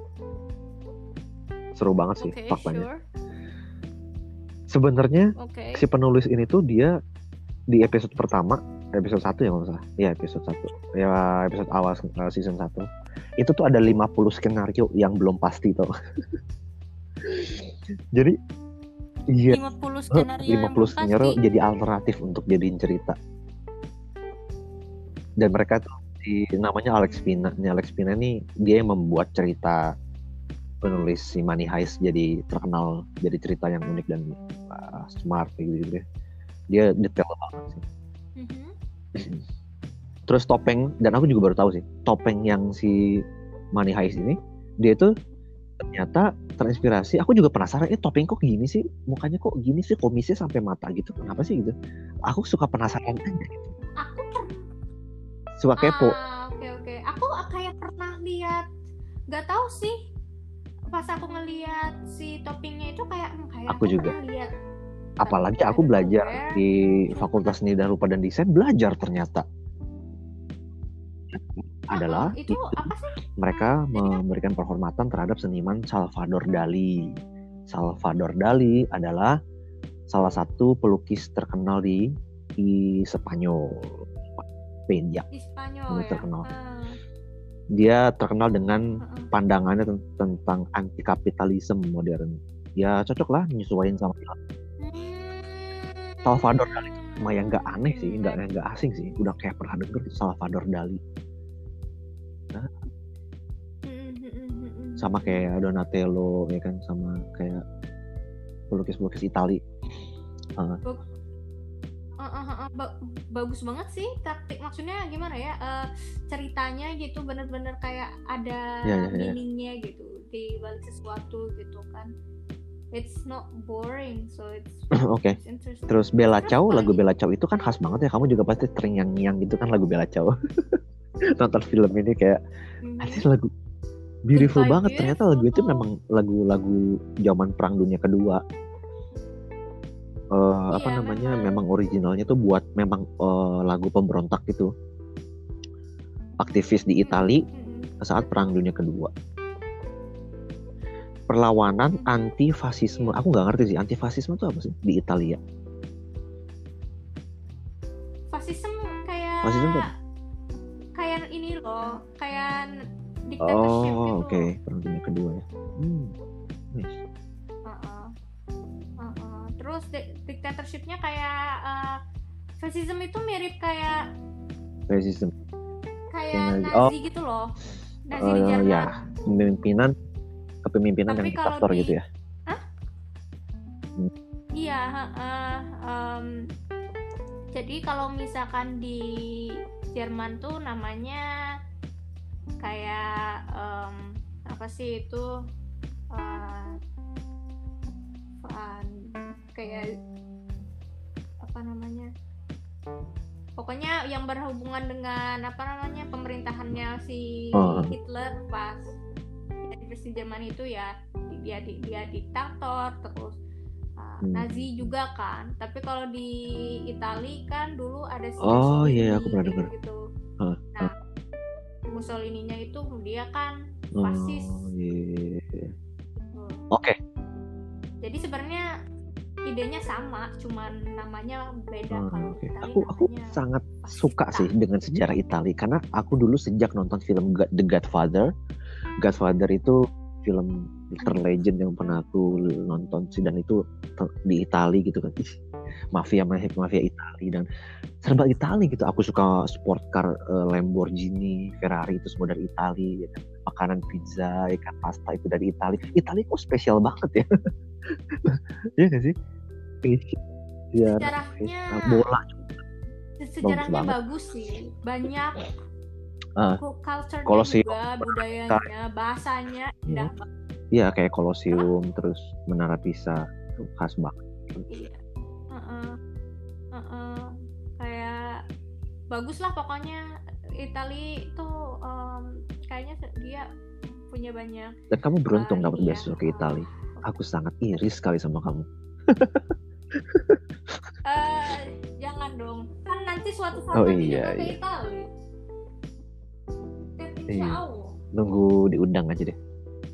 Seru banget sih okay, faktanya. Sure. Sebenarnya okay. si penulis ini tuh dia di episode pertama, episode satu ya kalau salah. Ya episode satu. Ya episode awal season satu. Itu tuh ada lima puluh skenario yang belum pasti tuh. Jadi iya, lima puluh skenario, lima puluh skenario jadi alternatif untuk jadiin cerita. Dan mereka tuh di, namanya Alex Pina. Ini Alex Pina nih dia yang membuat cerita penulis si Money Heist jadi terkenal, jadi cerita yang unik dan uh, smart gitu gitu. Dia detail banget sih. Mm-hmm. Terus topeng, dan aku juga baru tahu sih, topeng yang si Money Heist ini dia itu ternyata terinspirasi. Aku juga penasaran, eh topeng kok gini sih, mukanya kok gini sih, komisnya sampai mata gitu, kenapa sih gitu? Aku suka penasaran aja gitu. Aku per- suka kepo. Ah, oke oke. Aku kayak pernah lihat, nggak tahu sih. Pas aku ngelihat si toppingnya itu kayak, kayak aku, aku juga. Lihat. Apalagi aku belajar di Fakultas Seni dan Rupa dan Desain, belajar ternyata adalah uh, itu apa sih? Mereka memberikan penghormatan terhadap seniman Salvador Dali. Salvador Dali adalah salah satu pelukis terkenal di di Spanyol. Spanyol. Di Spanyol ya. Terkenal. Uh. Dia terkenal dengan uh-uh. pandangannya t- tentang anti kapitalisme modern. Ya cocok lah menyesuaikan sama film. Hmm. Salvador Dali sama yang nggak aneh sih, nggak nggak asing sih. Udah kayak pernah denger Salvador Dali. Nah, sama kayak Donatello ya kan, sama kayak pelukis-pelukis Itali. Uh. Uh, uh, uh, ba- bagus banget sih taktik, maksudnya gimana ya, uh, ceritanya gitu bener-bener kayak ada ya, ya, ya. meaningnya gitu di balik sesuatu gitu kan. It's not boring, so it's oke. Okay. Terus Bella Ciao, lagu Bella Ciao itu kan khas banget ya, kamu juga pasti terngiang-ngiang gitu kan lagu Bella Ciao. Nonton film ini kayak mm-hmm. Anjir lagu beautiful It's banget, ternyata lagu itu memang lagu-lagu zaman Perang Dunia Kedua. Uh, iya, apa namanya memang. memang originalnya tuh buat memang uh, lagu pemberontak gitu, aktivis di Itali mm-hmm. saat Perang Dunia Kedua, perlawanan mm-hmm. anti fasisme. Aku nggak ngerti sih anti fasisme itu apa sih di Italia. Fasisme kayak fasisme apa? Kayak ini loh, kayak dictatorship gitu. Oh oke, okay. Perang Dunia Kedua ya. Hmm. Nice. Terus di- dictatorship-nya kayak uh, fascism itu mirip kayak fascism kayak Nazi oh. gitu loh, Nazi uh, di Jerman. Ya, pemimpinan kepemimpinan yang diktator di... gitu ya. Hah? Hmm. Iya. Uh, um, jadi kalau misalkan di Jerman tuh namanya kayak um, apa sih itu? Uh, uh, kayak apa namanya, pokoknya yang berhubungan dengan apa namanya pemerintahannya si oh. Hitler pas di versi Jerman itu ya, dia dia diktator terus uh, hmm. Nazi juga kan, tapi kalau di Itali kan dulu ada si oh iya yeah, aku pernah dengar gitu. huh. Nah Mussolininya itu dia kan fasis. Oh, yeah. Oke. Okay. Jadi sebenarnya idenya sama, cuman namanya beda. Hmm, kalau okay. Itali Aku aku sangat suka sih dengan sejarah Itali karena aku dulu sejak nonton film The Godfather. Godfather itu film terlegend yang pernah aku nonton sih, dan itu di Itali gitu kan. Ih, mafia mafia Itali dan serba Itali gitu. Aku suka sport car, uh, Lamborghini, Ferrari itu semua dari Itali ya kan. Makanan pizza, ikan pasta itu dari Itali. Itali kok spesial banget ya. Iya nggak sih? Ya, sejarahnya bola sejarahnya bagus, bagus sih, banyak uh, culture-nya Kolosium, juga, budayanya, bahasanya indah banget. Iya kayak Kolosium, terus Menara Pisa itu khas banget. Iya. Uh-uh. Uh-uh. Kayak bagus lah pokoknya. Itali itu um, kayaknya dia punya banyak. Dan kamu beruntung uh, dapat ini ya, beasiswa ke Itali. uh, Aku sangat iri sekali sama kamu. uh, jangan dong, kan nanti suatu saat Oh nanti iya, juga ke iya. Itali. Dan insya Iya. Allah. Nunggu diundang aja deh.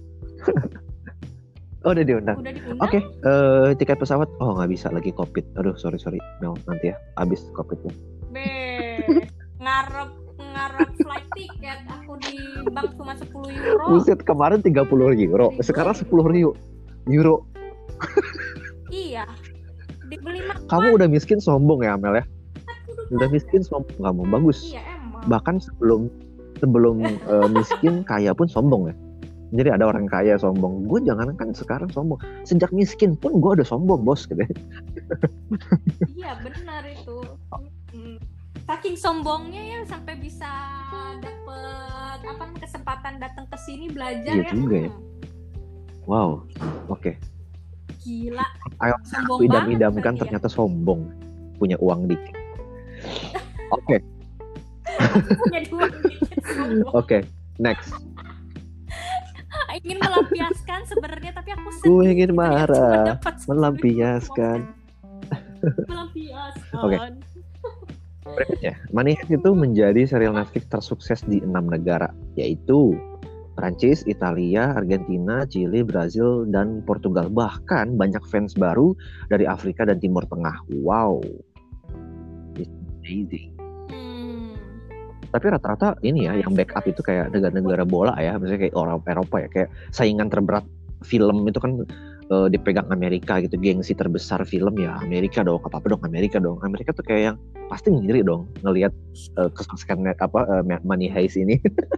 Oh udah diundang. Udah diundang. Oke, okay, uh, tiket pesawat. Oh nggak bisa lagi COVID. Aduh sorry sorry Mel, nanti ya abis COVID-nya. Be, ngarep ngarep flight tiket aku di bank cuma sepuluh euro. Buset, kemarin tiga puluh euro, sekarang sepuluh euro. Euro. Iya. Dibeli makan. Kamu udah miskin sombong ya Mel ya? Udah miskin sombong kamu. Bagus. Iya emang. Bahkan sebelum sebelum uh, miskin kaya pun sombong ya. Jadi ada orang kaya sombong. Gue jangan kan sekarang sombong. Sejak miskin pun gue udah sombong bos gitu. Iya benar itu. Hmm. Saking sombongnya ya sampai bisa dapet apa kesempatan datang ke sini belajar. Iya ya. juga ya. Hmm. Wow. Oke. Okay. Gila. Ayo aku idam-idamkan ternyata ya. Sombong. Punya uang dikit. Oke. Okay. Punya uang dikit sombong. Oke. Okay. Next. Ingin melampiaskan sebenarnya tapi aku sedih. Gue ingin marah. Melampiaskan. Melampiaskan. Oke. Okay. Berikutnya, Money Heist itu menjadi serial Netflix tersukses di enam negara, yaitu Prancis, Italia, Argentina, Chili, Brazil, dan Portugal. Bahkan banyak fans baru dari Afrika dan Timur Tengah. Wow. It's amazing. Tapi rata-rata ini ya yang backup itu kayak negara-negara bola ya, misalnya kayak orang Eropa ya, kayak saingan terberat film itu kan uh, dipegang Amerika gitu, gengsi terbesar film ya Amerika dong, apa-apa dong Amerika dong. Amerika tuh kayak yang pasti ngiri dong ngelihat uh, kesuksesan net apa uh, Money Heist ini.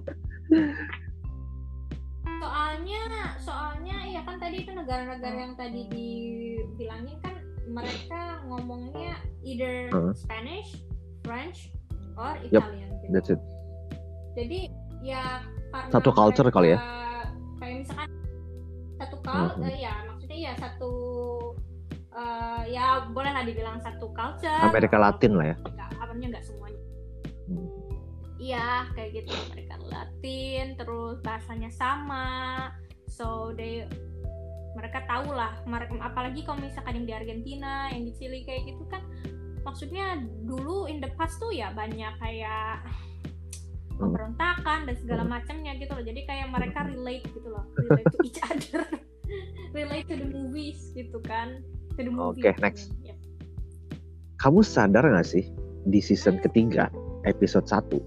soalnya soalnya ya kan tadi itu negara-negara yang tadi dibilangin kan mereka ngomongnya either uh. Spanish, French, or Italian. Yep. That's it. Jadi ya karena satu culture kali ya. Kayak misalkan satu culture, uh-huh. ya maksudnya ya satu uh, ya boleh lah dibilang satu culture. Amerika Latin lah ya. Apanya nggak semuanya. Hmm. Iya kayak gitu, Amerika Latin, terus bahasanya sama, so they mereka tahu lah. Apalagi kalau misalkan yang di Argentina, yang di Chili kayak gitu kan. Maksudnya dulu in the past tuh ya banyak kayak pemberontakan dan segala macamnya gitu loh. Jadi kayak mereka relate gitu loh, relate to each other, relate to the movies gitu kan, to the movie. Oke, okay, next. Ya. Kamu sadar nggak sih di season ketiga episode satu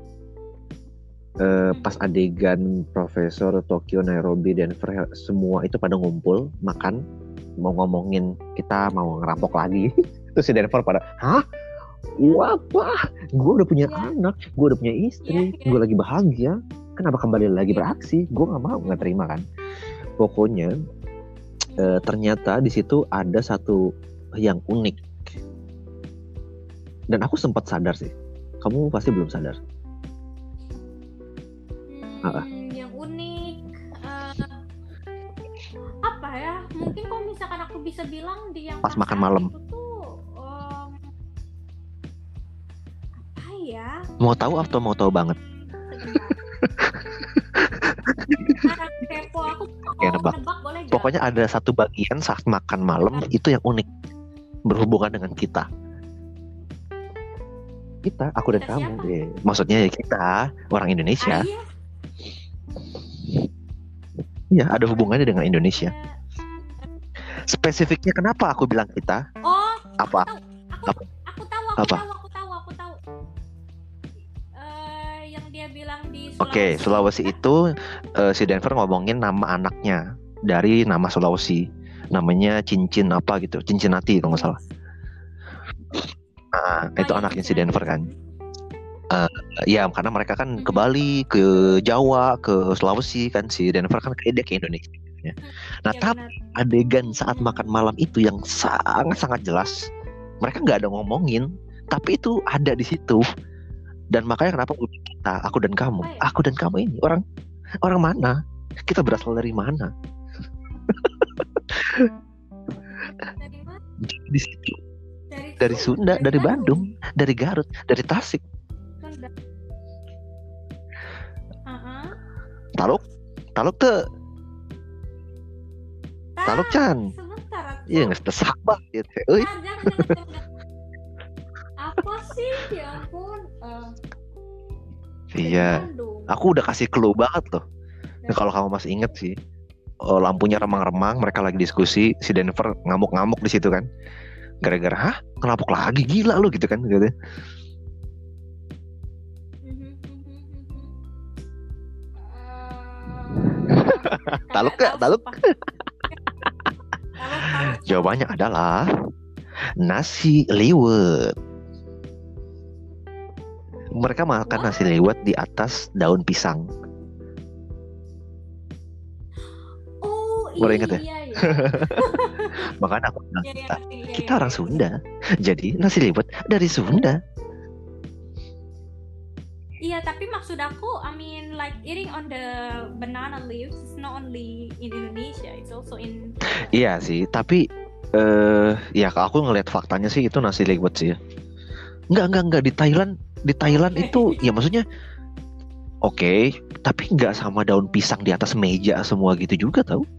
uh, pas adegan Profesor Tokyo, Nairobi, Denver semua itu pada ngumpul makan mau ngomongin kita mau ngerampok lagi. Terus si Denver pada, hah? Wah, apa? Gue udah punya yeah. anak, gue udah punya istri, yeah, yeah. gue lagi bahagia. Kenapa kembali lagi beraksi? Gue nggak mau, nggak terima kan? Pokoknya e, ternyata di situ ada satu yang unik. Dan aku sempat sadar sih. Kamu pasti belum sadar. Hmm, apa? Yang unik. Uh, apa ya? Mungkin kalau misalkan aku bisa bilang di yang pas makan malam. Ya. Mau tahu atau mau tahu banget? Kepo aku. Oke, nebak. nebak boleh gak? Pokoknya ada satu bagian saat makan malam itu yang unik berhubungan dengan kita. Kita, aku dan kamu. Ya, maksudnya ya kita orang Indonesia. Iya, ya, ada hubungannya dengan Indonesia. Spesifiknya kenapa aku bilang kita? Oh, apa? Aku, aku, aku tahu, aku apa? tahu, aku tahu, aku tahu. Uh, yang dia bilang di Sulawesi. Oke, okay, Sulawesi itu uh, si Denver ngomongin nama anaknya dari nama Sulawesi. Namanya Cincin apa gitu, Cincinati kalau nggak salah. Nah, oh, itu ya, anaknya si Denver kan. Uh, ya, karena mereka kan hmm. ke Bali, ke Jawa, ke Sulawesi kan, si Denver kan kayak dia ke Indonesia. Ya. Nah, ya, tapi benar. Adegan saat makan malam itu yang sangat-sangat jelas, mereka nggak ada ngomongin, tapi itu ada di situ. Dan makanya kenapa kita, aku dan kamu, ya? aku dan kamu ini orang orang mana? Kita berasal dari mana? Dari mana? Di situ. Dari dari Sunda, dari Bandung, dari Garut, dari Tasik. Sunda. Uh-uh. Taluk, Taluk tuh, Taluk Chan. Sebentar. Iya nggak tesak banget. Euy. Ah, jangan, jangan, jangan. Apa sih? Ya ampun. Uh, Iya. Aku udah kasih clue banget loh. Nah, kalau kamu masih inget sih, oh, lampunya remang-remang, mereka lagi diskusi, si Denver ngamuk-ngamuk di situ kan. Gara-gara, hah? Ngelapuk lagi, gila lu gitu kan gitu. Taluk gak? Taluk? Jawabannya adalah nasi liwet. Mereka makan nasi liwet di atas daun pisang. Oh Baru ingat ya? iya iya. Makanya aku bilang, Iya, iya, kita, ngerti, iya, kita iya, orang iya. Sunda, jadi nasi liwet dari Sunda. Iya, tapi maksud aku, I mean like eating on the banana leaves is not only in Indonesia, it's also in. Iya sih, tapi eh ya kalau aku ngelihat faktanya sih itu nasi liwet sih ya. Enggak, enggak, enggak di Thailand, di Thailand itu ya maksudnya oke, okay, tapi enggak sama daun pisang di atas meja semua gitu juga tau.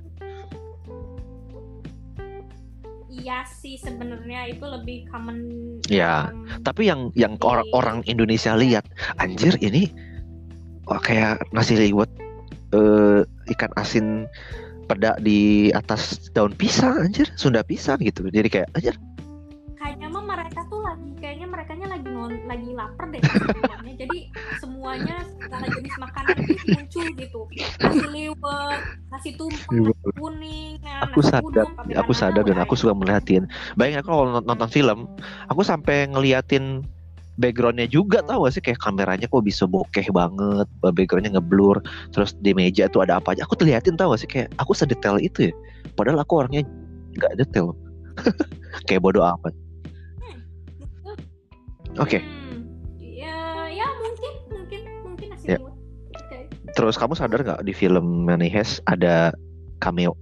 Iya sih sebenarnya itu lebih common. Ya, um, tapi yang yang di- orang-orang Indonesia lihat, anjir ini wah, kayak nasi liwet eh, ikan asin peda di atas daun pisang, anjir, Sunda pisang gitu. Jadi kayak anjir. kayaknya mah mereka tuh lagi kayaknya merekanya lagi non, lagi lapar deh sebenarnya. Jadi semuanya segala jenis makanan itu muncul gitu. Nasi liwet, nasi tumpeng, nasi kuning, nah, Aku nasi sadar, udon, pakai aku banana, sadar dan udah aku ya. suka melihatin. Bayangin aku kalau nonton film, aku sampai ngeliatin backgroundnya juga, tau gak sih kayak kameranya kok bisa bokeh banget, backgroundnya ngeblur, terus di meja tuh ada apa aja. Aku terlihatin, tau gak sih kayak aku sedetail itu ya. Padahal aku orangnya nggak detail, kayak bodoh amat. Oke, okay. Hmm, ya, ya mungkin, mungkin, mungkin nasi Ya. liwet. Oke. Terus kamu sadar nggak di film Money Heist ada cameo,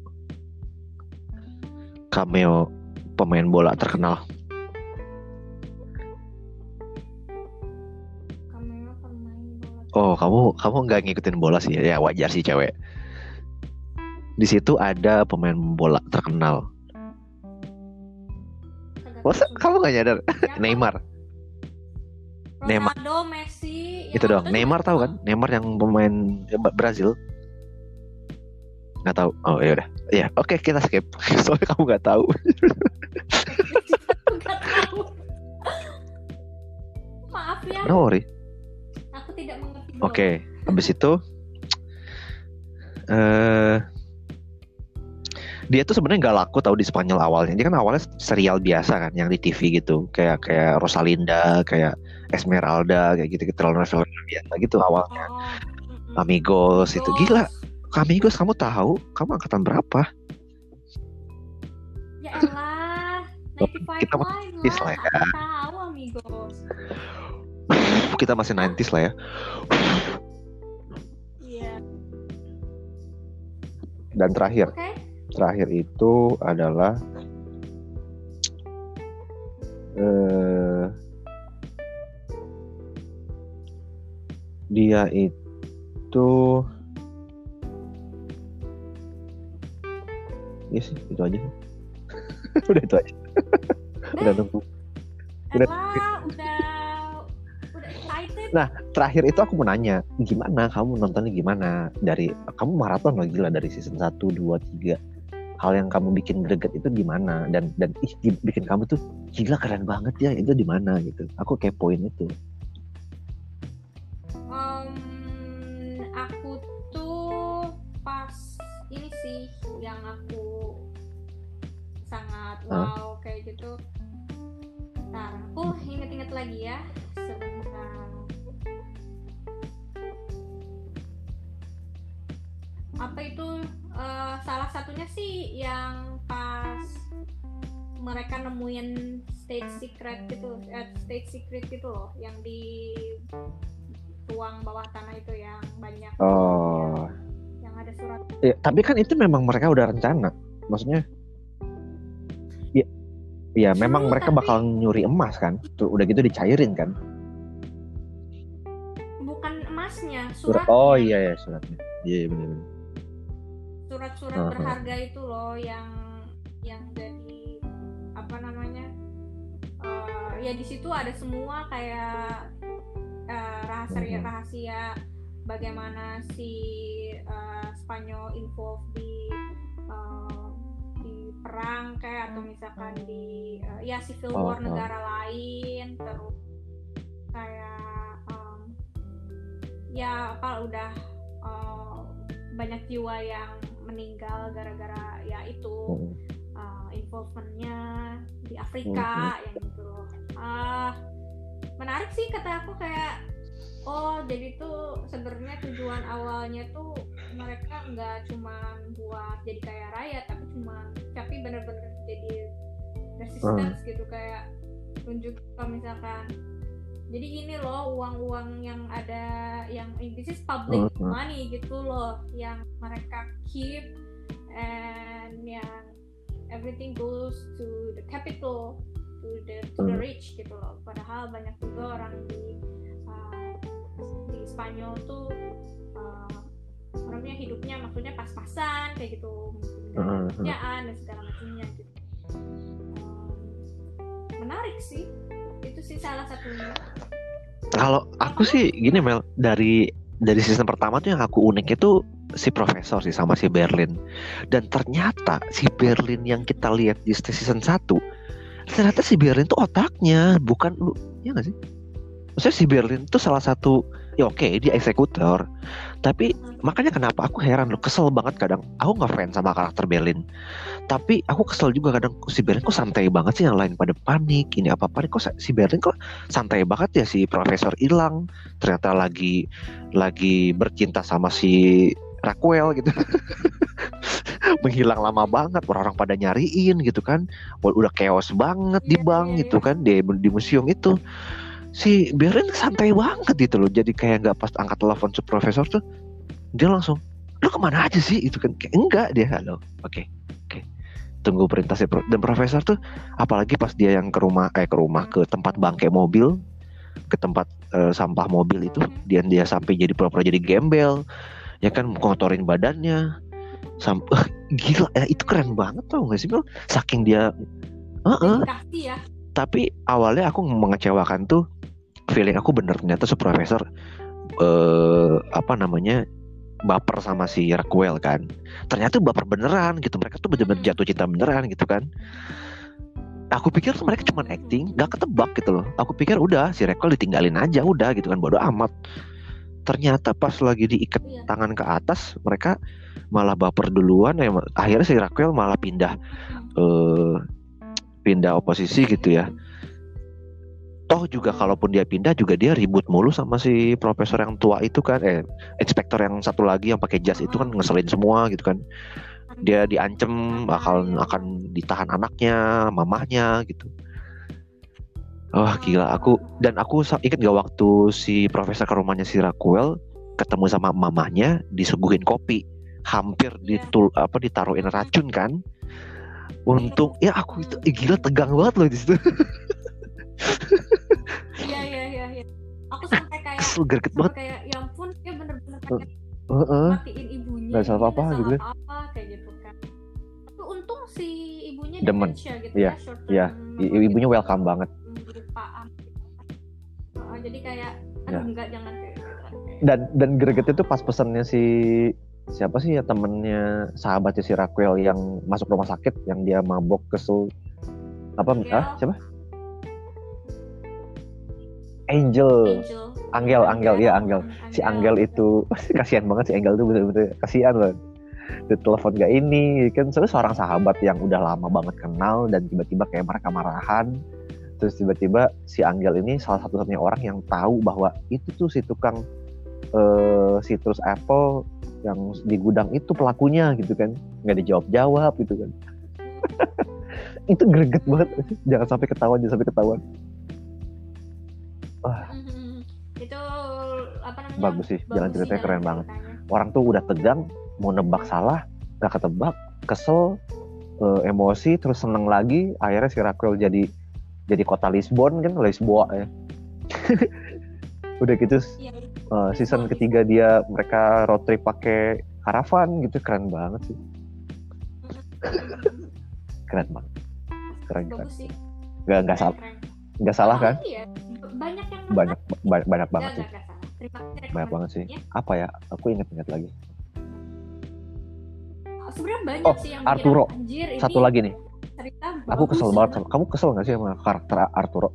cameo pemain bola terkenal. Kamera pemain bola. Oh, kamu kamu nggak ngikutin bola sih ya, wajar sih cewek. Di situ ada pemain bola terkenal. Kagak Masa tahu. kamu nggak nyadar? Siapa? Neymar. Neymar. Ronaldo, Messi. Itu yang dong. aku Neymar juga tahu kan? Neymar yang pemain Brazil. Nggak tahu. Oh ya udah. Ya, oke, kita skip. Soalnya kamu nggak tahu. Aku nggak tahu. Maaf ya, No worry. aku tidak mengerti bola. Oke, habis itu eh dia tuh sebenarnya nggak laku tahu di Spanyol awalnya. Dia kan awalnya serial biasa kan, yang di T V gitu, kayak kayak Rosalinda, kayak Esmeralda, kayak gitu, gitu, telenovela biasa gitu awalnya. Oh, mm-mm. Amigos itu Amigos. gila. Amigos kamu tahu? Kamu angkatan berapa? Ya elah, Kita sembilan puluh lima masih lah. lah ya. Aku tahu Amigos. Kita masih sembilan puluh lah ya. Iya. Dan terakhir, Oke. terakhir itu adalah eh, dia itu ya sih itu aja. Udah itu aja. Udah nunggu. Udah. Elah, udah udah excited. Nah, terakhir itu aku mau nanya, gimana kamu nontonnya gimana? Dari kamu maraton lah gila dari season satu, dua, tiga. Hal yang kamu bikin greget itu gimana? Dan dan ih bikin kamu tuh gila keren banget ya, itu di mana gitu. Aku kepoin itu. Um, aku tuh pas ini sih yang aku sangat wow kayak gitu. Ntar aku inget-inget lagi ya sebentar. Apa itu uh, salah satunya sih yang pas mereka nemuin state secret gitu, eh, state secret gitu loh, yang di ruang bawah tanah itu yang banyak. Oh. Yang ada surat. Ya, tapi kan itu memang mereka udah rencana. Maksudnya ya Iya, memang True, mereka tapi bakal nyuri emas kan. Tuh, udah gitu dicairin kan. bukan emasnya, Surat. Oh suratnya. iya ya suratnya. Iya iya, benar-benar. Surat-surat Heeh. berharga itu loh yang yang jadi apa namanya? eh, ya di situ ada semua kayak eh, rahasia Mhm. rahasia bagaimana si eh, Spanyol involved di eh, di perang kayak atau misalkan di eh, ya civil Oh, war oh. negara lain, terus kayak em, ya apa udah eh, banyak jiwa yang meninggal gara-gara ya itu Mhm. uh, involvementnya di Mhm. Afrika yang gitu loh. Ah, menarik sih kata aku kayak oh jadi tuh sebenarnya tujuan awalnya tuh mereka nggak cuma buat jadi kaya raya tapi cuma tapi bener-bener jadi resistance gitu kayak tunjuk kalau misalkan jadi gini loh uang-uang yang ada yang this is public Mhm. money gitu loh yang mereka keep and yang everything goes to the capital to the to the Mhm. rich gitu loh padahal banyak juga orang di uh, di Spanyol tuh uh, orangnya hidupnya maksudnya pas-pasan kayak gitu mungkin nggak ada Mhm. kerjaan dan segala macamnya gitu. Um, menarik sih itu sih salah satunya. Kalau aku sih gini Mel, dari dari season pertama tuh yang aku unik itu si profesor sih sama si Berlin. Dan ternyata si Berlin yang kita lihat di season satu, ternyata si Berlin tuh otaknya, bukan lu, ya nggak sih? Maksudnya si Berlin tuh salah satu, ya oke dia eksekutor, tapi makanya kenapa aku heran loh, kesel banget kadang. Aku nggak fans sama karakter Berlin, tapi aku kesel juga kadang si Berlin kok santai banget sih, yang lain pada panik, ini apa panik kok si Berlin kok santai banget ya, si profesor hilang, ternyata lagi lagi bercinta sama si Raquel gitu. Menghilang lama banget, orang-orang pada nyariin gitu kan, udah chaos banget di Iya, bank iya, gitu iya. kan, di, di museum itu si Berlin santai banget gitu loh, jadi kayak nggak pas angkat telepon si profesor tuh dia langsung lu kemana aja sih itu kan, kayak enggak dia halo oke okay, oke okay. Tunggu perintah si pro- dan profesor tuh apalagi pas dia yang ke rumah eh ke rumah ke tempat bangkai mobil, ke tempat uh, sampah mobil itu, dia dia sampai jadi pura-pura jadi gembel ya kan, ngotorin badannya sampai gila ya, itu keren banget tau gak sih Mel, saking dia uh-uh. Dedikasi ya. Tapi awalnya aku mengecewakan tuh, feeling aku bener ternyata si profesor uh, apa namanya baper sama si Raquel kan, ternyata baper beneran gitu, mereka tuh bener-bener jatuh cinta beneran gitu kan. Aku pikir tuh mereka cuma acting, gak ketebak gitu loh. Aku pikir udah si Raquel ditinggalin aja udah gitu kan, bodo amat. Ternyata pas lagi diikat Iya. tangan ke atas, mereka malah baper duluan ya. Akhirnya si Raquel malah pindah uh, pindah oposisi gitu ya. Toh juga kalaupun dia pindah juga dia ribut mulu sama si profesor yang tua itu kan, eh inspektor yang satu lagi yang pakai jas itu kan, ngeselin semua gitu kan. Dia diancem akan akan ditahan anaknya, mamahnya gitu. Wah gila aku, dan aku inget gak waktu si profesor ke rumahnya si Raquel ketemu sama mamahnya, disuguhin kopi, hampir ditul apa ditaruhin racun kan. Untung ya aku itu eh, gila tegang banget loh di situ. Iya iya iya iya. Aku sampai kayak kesel greget banget. Kayak ya ampun dia bener-bener kayak uh-uh. matiin ibunya. Gak salah apa-apa gitu kan. Apa kayak gitu kan. Tapi untung si ibunya demen gitu ya. Iya, ya. Ibunya welcome banget. Oh, jadi kayak aduh ya. Enggak jangan kayak gitu. Dan dan gregetnya tuh pas pesannya si siapa sih ya, temennya sahabatnya si Raquel yang masuk rumah sakit, yang dia mabok kesel apa Angel. ah siapa Angel, Angel, Angel, ya Angel. Si Angel itu kasihan banget, si Angel tuh bener-bener kasihan loh. Di telepon gak ini, kan sebenarnya seorang sahabat yang udah lama banget kenal, dan tiba-tiba kayak mereka marahan. Terus tiba-tiba si Angel ini salah satu-satunya orang yang tahu bahwa itu tuh si tukang uh, citrus apple yang di gudang itu pelakunya gitu kan. Gak dijawab-jawab gitu kan. Itu greget banget, jangan sampai ketahuan, jangan sampai ketahuan. Wah. Mm-hmm. Itu apa namanya? Bagus sih, jalan ceritanya keren banget. Orang tuh udah tegang, mau nebak salah, gak ketebak, kesel, uh, emosi terus seneng lagi, akhirnya si Raquel jadi jadi kota Lisbon kan, Lisboa ya. Udah gitu Iya, uh, season Lisbon, ketiga dia mereka road trip pakai karavan gitu, keren banget sih. Keren banget, keren keren. bagus sih. Nggak nggak salah, nggak salah kan? Iya, banyak yang Banyak banyak, banyak banget Nggak, sih, nggak, nggak salah. Terima kasih banyak banget sih. rekomendasinya. Apa ya? Aku inget-inget lagi. Sebenarnya banyak Oh, sih yang Arturo. bilang, anjir ini Satu lagi nih. cerita Aku bagus kesel banget sama kamu. Kesel nggak sih sama karakter Arturo?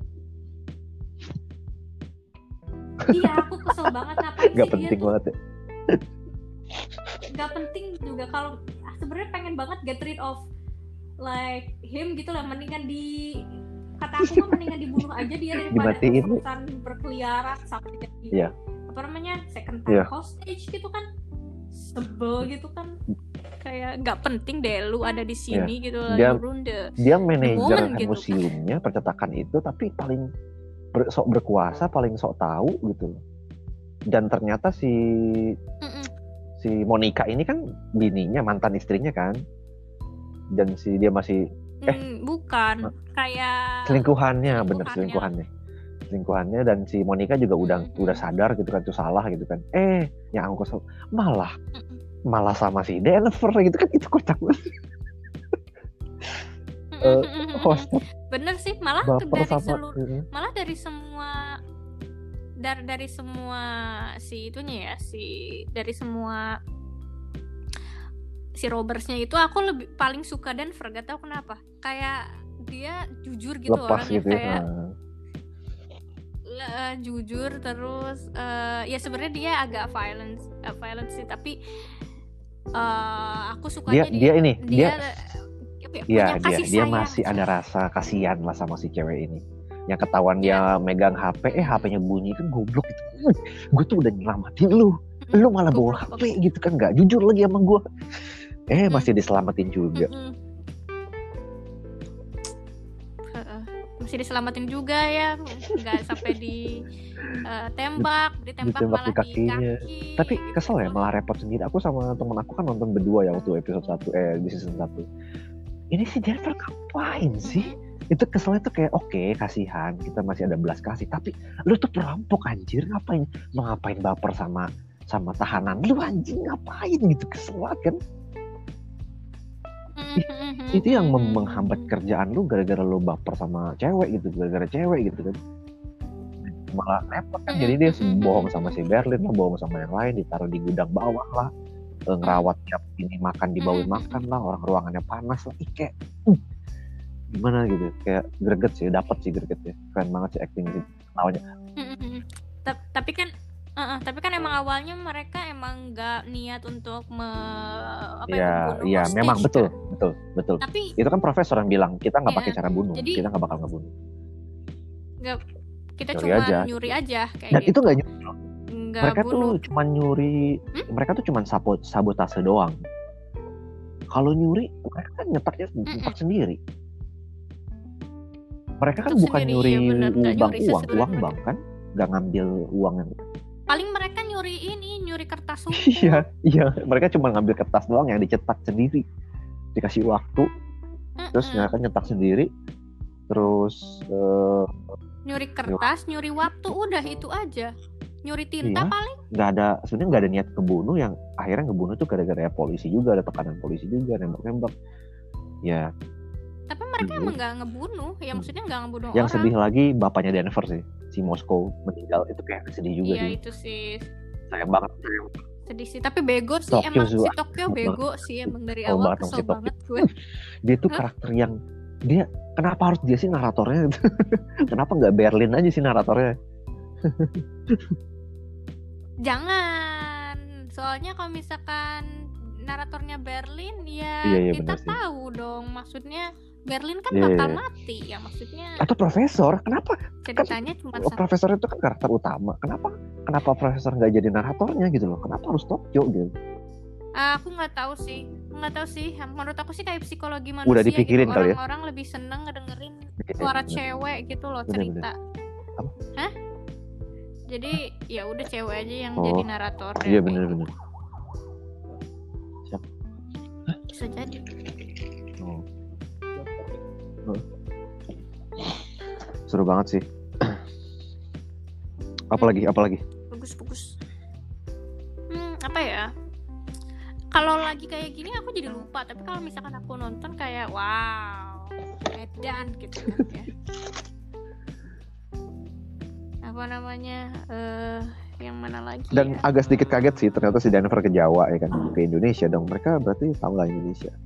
Iya, aku kesel banget, ngapain Gak sih penting dia tuh. banget ya. Gak penting juga, kalau sebenarnya pengen banget get rid of like him gitu lah, mendingan di kata aku mah mendingan dibunuh aja dia daripada Dimatiin. terus-terusan berkeliaran sampai jadi Iya. apa namanya second time Iya. hostage gitu kan, sebel gitu kan, kayak nggak penting deh lu ada di sini gitu lah, Dia- you ruin the Dia manajer moment gitu kan. museumnya, percetakan itu, tapi paling ber, sok berkuasa, paling sok tahu gitu loh. Dan ternyata si Mm-mm. si Monica ini kan bininya, mantan istrinya kan. Dan si dia masih Eh. Hmm, bukan kayak selingkuhannya, bener selingkuhannya. selingkuhannya. Selingkuhannya dan si Monica juga udah Mm-mm. udah sadar gitu kan, itu salah gitu kan. Eh, yang aku kesel malah Mm-mm. malah sama si Denver gitu kan, itu kocak banget. Eh, host Bener sih, malah baper dari sama seluruh malah dari semua dari dari semua si itunya ya, si dari semua si Robertsnya itu aku lebih paling suka Denver, gak tau kenapa, kayak dia jujur gitu, lepas orangnya gitu ya. kayak Nah, uh, jujur terus uh, ya sebenarnya dia agak violent uh, violent sih, tapi uh, aku sukanya dia dia ini dia dia apa ya, Iya, punya dia kasih dia sayang. masih ada rasa kasihan lah sama si cewek ini. Yang ketahuan dia megang H P, eh H P-nya bunyi, kan goblok gitu. Gue tuh udah nyelamatin lu, Mm-mm. lu malah bawa Goblok, H P gitu kan, nggak jujur lagi sama gue. Eh Mm-mm. masih diselamatin juga. Mm-mm. Uh, masih diselamatin juga ya, nggak sampai di uh, tembak, ditembak Ditembak malah di kakinya. di kaki. Tapi gitu. kesel ya, malah repot sendiri. Aku sama temen aku kan nonton berdua ya waktu episode satu, eh di season satu. Ini si Denver ngapain sih? Itu keselnya tuh kayak oke, okay, kasihan, kita masih ada belas kasih, tapi lu tuh perampok anjir, ngapain? Mau ngapain baper sama sama tahanan lu anjing, ngapain gitu, kesel banget kan? Mm-hmm. Itu yang mem- menghambat kerjaan lu gara-gara lu baper sama cewek gitu, gara-gara cewek gitu kan. Malah repot kan, jadi dia bohong sama si Berlin lah, bohong sama yang lain, ditaruh di gudang bawah lah, ngerawat tiap ini makan dibawain makan lah, orang ruangannya panas lah, Ih, kayak uh, gimana gitu, kayak greget sih, dapat sih gregetnya, keren banget sih acting sih, awalnya. Tapi kan, uh, tapi kan emang awalnya mereka emang nggak niat untuk me, apa ya, membunuh ya hostage, memang betul, kan? betul, betul. Tapi itu kan profesor yang bilang kita nggak ya, pakai cara bunuh, jadi, kita nggak bakal ngebunuh. Nggak, kita nyuri cuma aja. nyuri aja kayak Dan gitu. itu nggak nyuri. Nggak mereka bunuh. tuh cuma nyuri, hmm? mereka tuh cuma sabot, sabotase doang. Kalau nyuri, mereka kan nyetaknya nyetak sendiri. Mereka kan Untuk bukan sendiri, nyuri ya bener, bank nyuri uang, uang mereka. bank kan, nggak ngambil uang yang. Paling mereka nyuri ini, nyuri kertas hukum. Iya, iya, mereka cuma ngambil kertas doang yang dicetak sendiri, dikasih waktu, Mm-mm. terus mereka nyetak sendiri, terus uh, nyuri kertas, nyuri waktu, udah itu aja. Nyuri tinta iya, paling nggak ada, sebenarnya nggak ada niat ngebunuh, yang akhirnya ngebunuh tuh gara-gara ya polisi juga, ada tekanan polisi juga, nembak-nembak ya. Tapi mereka emang nggak ngebunuh, ya maksudnya nggak ngebunuh yang orang. sedih lagi bapaknya Denver sih, si Moskow meninggal, itu kayak sedih juga iya, sih. Itu sih sayang banget, sedih sih, tapi bego sih Tokyo emang juga. si Tokyo bego sih emang dari oh, awal, banget kesel si banget gue. Dia tuh karakter yang dia, kenapa harus dia sih naratornya? Kenapa nggak Berlin aja sih naratornya? Jangan, soalnya kalau misalkan naratornya Berlin ya iya, iya, kita tahu dong, maksudnya Berlin kan iya, bakal iya. mati ya, maksudnya atau profesor, kenapa ceritanya kan, cuma profesor itu kan karakter utama, kenapa kenapa profesor nggak jadi naratornya gitu loh, kenapa harus Tokyo gitu? Uh, aku nggak tahu sih, nggak tahu sih. Menurut aku sih kayak psikologi manusia. Udah dipikirin gitu. Kali ya? Orang-orang lebih seneng ngedengerin ya, suara bener. cewek gitu loh, bener, cerita. bener. Apa? Hah? Jadi ya udah cewek aja yang oh, jadi narator. Iya benar-benar. Bisa jadi. Oh. seru banget sih. Apalagi, apalagi. Bagus-bagus. Hmm, apa ya? Kalau lagi kayak gini aku jadi lupa. Tapi kalau misalkan aku nonton kayak wow, edan gitu ya. Apa namanya? Eh, yang mana lagi? Dan ya? agak sedikit kaget sih ternyata si Denver ke Jawa ya kan, ke Indonesia dong. Mereka berarti tahu lah Indonesia.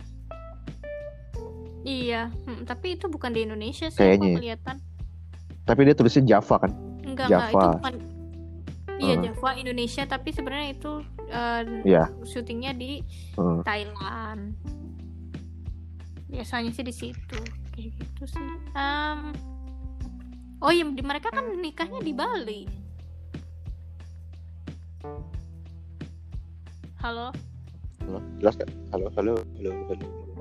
Iya, hmm, tapi itu bukan di Indonesia sih. Kayaknya. Aku kelihatan. Tapi dia tulisnya Java kan? Enggak, Java. enggak, itu bukan. Iya, uh. Java Indonesia, tapi sebenarnya itu uh, yeah. syutingnya di uh. Thailand. Biasanya sih di situ, kayak gitu sih. Um, oh iya, di mereka kan nikahnya di Bali. Halo. Halo, jelas gak? Halo, halo, halo, halo.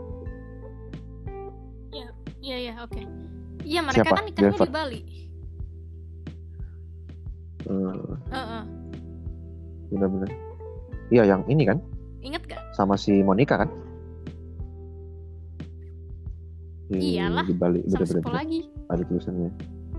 Iya, iya, iya, oke. Iya, mereka Siapa? kan nikahnya Denver? di Bali. Uh. Uh-uh. Benar-benar. Iya, yang ini kan? Ingat gak? Sama si Monica kan? Di, Iyalah. Di Bali, sama siapa benar-benar. lagi? Ada tulisannya.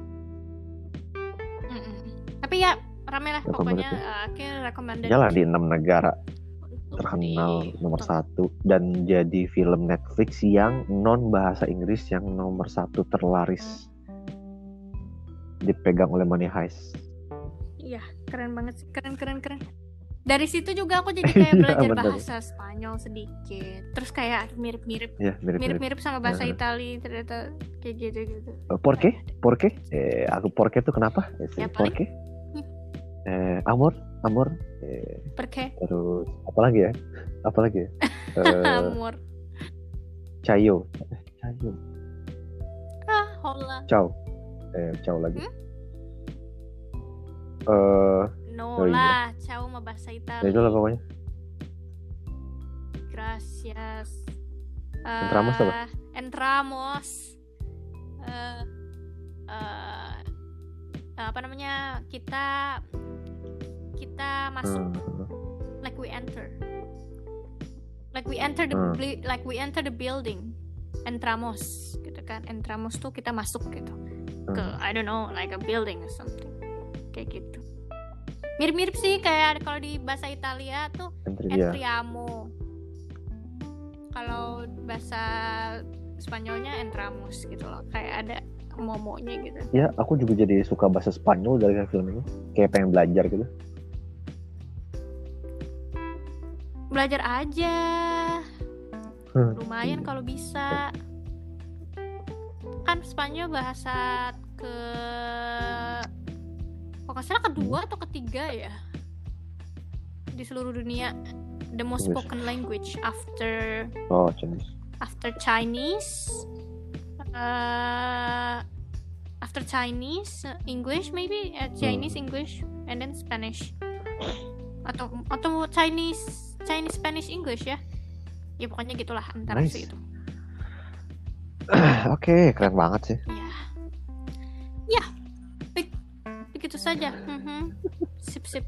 Mm-mm. Tapi ya rame lah pokoknya. Uh, akhirnya recommended. Jalan di enam negara terkenal di... nomor satu dan jadi film Netflix yang non bahasa Inggris yang nomor satu terlaris, dipegang oleh Money Heist. Iya, keren banget sih, keren keren keren. Dari situ juga aku jadi kayak belajar bahasa Spanyol sedikit. Terus kayak mirip-mirip, ya, mirip-mirip. mirip-mirip sama bahasa ya. Itali ternyata kayak gitu-gitu. Uh, ¿Por qué? ¿Por qué? Eh, aku por qué itu kenapa? Eh, ya, ¿Por qué? Eh, amor, amor. Eh, ¿Por qué? Terus apa lagi ya? Apa lagi ya? uh, amor. Chayo. Chayo. Ah, hola. Ciao. Eh, ciao lagi. Hmm? Uh, no oh lah, iya. ciao mah bahasa Italia. Ya itulah pokoknya. Gracias. Uh, entramos apa? Entramos. Uh, uh, apa namanya? Kita kita masuk. Hmm. Like we enter. Like we enter the hmm. bli- like we enter the building. Entramos, gitu kan? Entramos tuh kita masuk gitu. Hmm. Ke I don't know, like a building or something. Kayak gitu. Mirip-mirip sih kayak kalau di bahasa Italia tuh entriamo. Kalau bahasa Spanyolnya entramos gitu loh. Kayak ada momonya gitu. Ya, aku juga jadi suka bahasa Spanyol dari film ini. Kayak pengen belajar gitu. Belajar aja. Hmm. Lumayan kalau bisa. Kan Spanyol bahasa ke kalau nggak salah kedua atau ketiga ya di seluruh dunia, the most spoken language after oh Chinese after Chinese uh, after Chinese uh, English maybe uh, Chinese hmm. English and then Spanish atau atau Chinese Chinese Spanish English ya ya pokoknya gitulah antara nice. Itu oke okay, keren banget sih ya ya begitu saja. Mm-hmm. Sip sip.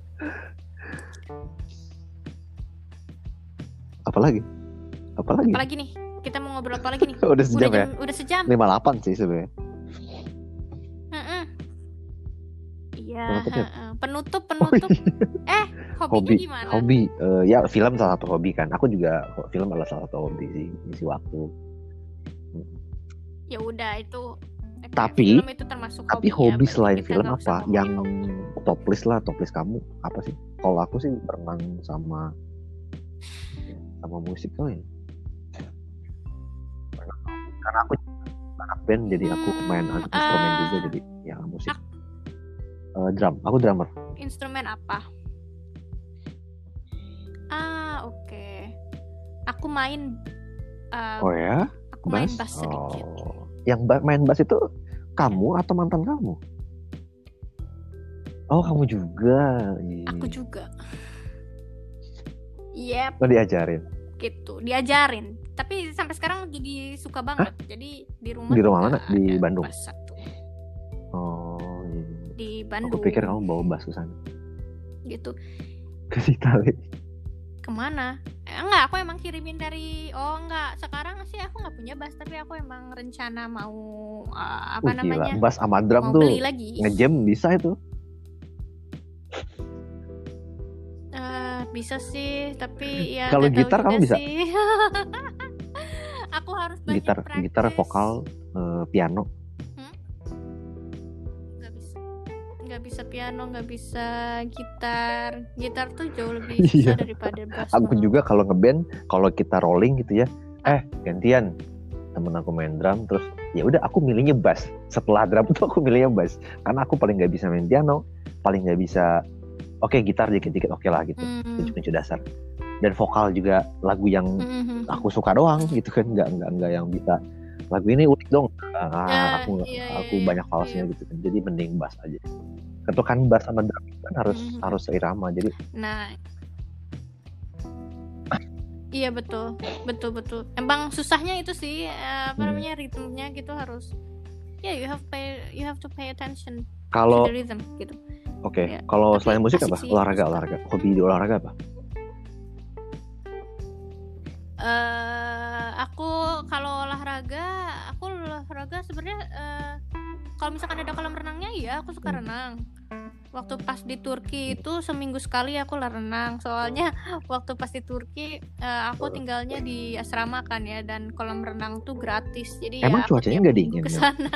Apalagi? Apalagi? Apalagi nih? Kita mau ngobrol apa lagi nih? udah sejam udah ya? Jam, udah sejam. lima puluh delapan sih sebenarnya. Mm-mm. Iya. Penutup penutup. Oh, iya. Eh, hobinya hobi, gimana? Hobi, uh, ya film salah satu hobi kan. Aku juga film adalah salah satu hobi sih, ngisi waktu. Ya udah itu. Tapi film itu termasuk tapi hobi, hobi ya, selain film apa yang hobi. top list lah, top list kamu apa sih? Kalau aku sih berenang sama sama musik kali ya. Karena aku anak band jadi aku main hmm, instrumen uh, juga jadi ya musik. Ak- uh, drum, aku drummer. Instrumen apa? Ah oke. Okay. Aku main. Uh, oh ya? Aku main bass sedikit. Oh. Yang main bass itu kamu atau mantan kamu? Oh kamu juga. Aku juga. Yep. Oh diajarin? Gitu, diajarin. Tapi sampai sekarang jadi suka banget. Hah? Jadi di rumah. Di rumah mana? Di Bandung. Bass satu. Oh. Iya. Di Bandung. Aku pikir kamu bawa bass ke sana. Gitu. Ke Itali. Kemana? enggak, aku emang kirimin dari oh enggak, sekarang sih aku nggak punya bass, tapi aku emang rencana mau uh, apa Uh, namanya gila, bass sama drum mau tuh beli lagi. ngejam bisa itu. Uh, bisa sih, tapi ya Kalau nggak tahu gitar juga kamu bisa? sih. Aku harus banyak Gitar, practice. gitar, vokal, uh, piano. Hmm? Nggak bisa, nggak bisa piano, nggak bisa gitar. Gitar tuh jauh lebih susah daripada bass. Aku juga kalau ngeband, kalau kita rolling gitu ya, eh gantian temen aku main drum, terus ya udah aku milihnya bass. Setelah drum tuh aku milihnya bass, karena aku paling nggak bisa main piano, paling nggak bisa. Oke okay, gitar dikit-dikit oke okay lah gitu, mm-hmm. kunci-kunci dasar. Dan vokal juga lagu yang mm-hmm. aku suka doang gitu kan, nggak nggak nggak yang bisa lagu ini unik dong. Ah, uh, aku iya, aku iya, banyak falsnya iya. gitu kan, jadi mending bass aja. Ketukan bass sama drum kan harus mm-hmm. harus seirama, jadi. Nah, iya betul, betul betul. Emang susahnya itu sih, apa hmm. namanya ritmenya gitu harus. Ya yeah, you have pay, you have to pay attention kalau, to the rhythm gitu. Oke, okay. Ya, kalau selain musik apa? Sih, olahraga, olahraga. Hobi di olahraga apa? Uh, aku kalau olahraga, aku olahraga sebenarnya uh, kalau misalkan ada kolam renangnya, ya aku suka hmm. renang. Waktu pas di Turki itu seminggu sekali aku lah renang. Soalnya waktu pas di Turki uh, aku tinggalnya di asrama kan ya, dan kolam renang tuh gratis. Jadi emang ya cuacanya nggak dingin? Ke sana.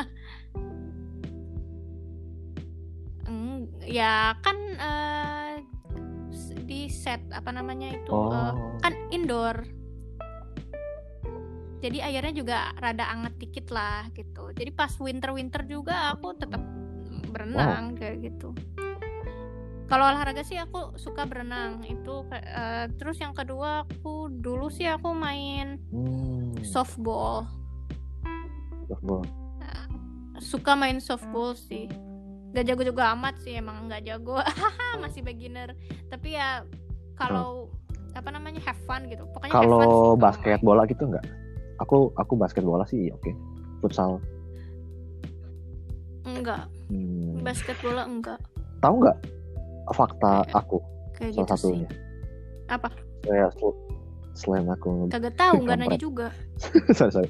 Ya kan uh, di set apa namanya itu oh. uh, kan indoor, jadi airnya juga rada anget dikit lah gitu. Jadi pas winter winter juga aku tetap berenang wow. kayak gitu. Kalau olahraga sih aku suka berenang itu. Uh, terus yang kedua aku dulu sih aku main hmm. softball. Softball. Uh, suka main softball sih. Gak jago juga amat sih, emang gak jago. Masih beginner. Tapi ya kalau hmm. apa namanya have fun gitu. Pokoknya kalau basket main. Bola gitu enggak? Aku aku basket bola sih oke. Okay. Futsal. Enggak. Hmm. Basket bola enggak. Tahu enggak fakta kayak, aku? Kayak salah gitu satunya. Sih. Apa? Saya sel- selain aku kagak tahu, enggak nanya juga. sorry sorry.